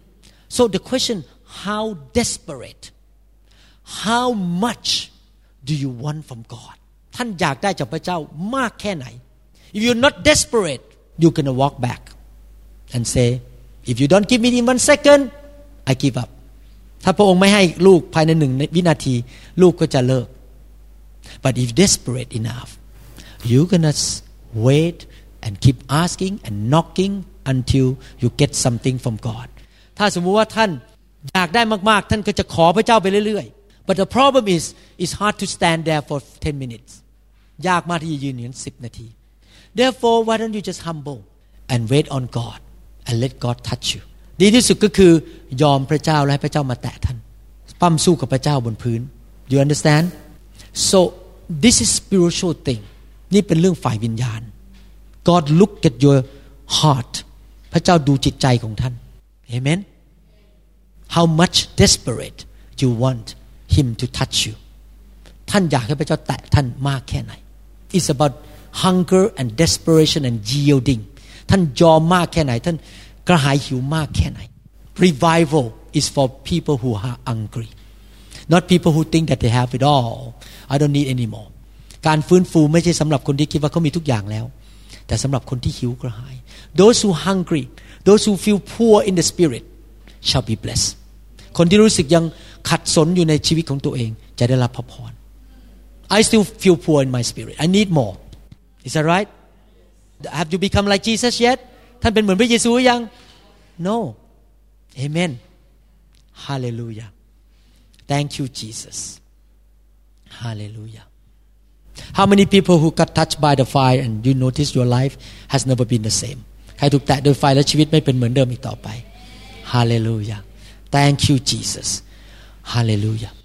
[SPEAKER 1] so the question how desperate how much do you want from God ท่านอยากได้จากพระเจ้ามากแค่ไหนIf you're not desperate, you're gonna walk back and say, "If you don't give me in one second, I give up." ถ้าพระองค์ไม่ให้ลูกภายในหนึ่งวินาทีลูกก็จะเลิก But if desperate enough, you're gonna wait and keep asking and knocking until you get something from God. ถ้าสมมุติว่าท่านอยากได้มากๆท่านก็จะขอพระเจ้าไปเรื่อยๆ But the problem is, it's hard to stand there for ten minutes. ยากมากที่จะยืนอย่างนั้นสิบนาทีTherefore, why don't you just humble and wait on God and let God touch you? ดีที่สุดก็คือยอมพระเจ้าและให้พระเจ้ามาแตะท่านปั้มสู้กับพระเจ้าบนพื้น You understand? So this is spiritual thing. นี่เป็นเรื่องฝ่ายวิญญาณ God look at your heart. พระเจ้าดูจิตใจของท่าน Amen? How much desperate you want Him to touch you? ท่านอยากให้พระเจ้าแตะท่านมากแค่ไหน It's about hunger and desperation and yielding ท่านยอมมากแค่ไหนท่านกระหายหิวมากแค่ไหน Revival is for people who are hungry not people who think that they have it all I don't need anymore การฟื้นฟูไม่ใช่สำหรับคนที่คิดว่าเขามีทุกอย่างแล้วแต่สำหรับคนที่หิวกระหาย those who hungry those who feel poor in the spirit shall be blessed คนที่รู้สึกยังขัดสนอยู่ในชีวิตของตัวเองจะได้รับพระพร I still feel poor in my spirit I need more is that right have you become like Jesus yet ท่านเป็นเหมือนพระเยซูหรือยัง no amen hallelujah thank you Jesus hallelujah how many people who got touched by the fire and you notice your life has never been the same ใครถูกแตะโดยไฟและชีวิตไม่เป็นเหมือนเดิมอีกต่อไป hallelujah thank you Jesus hallelujah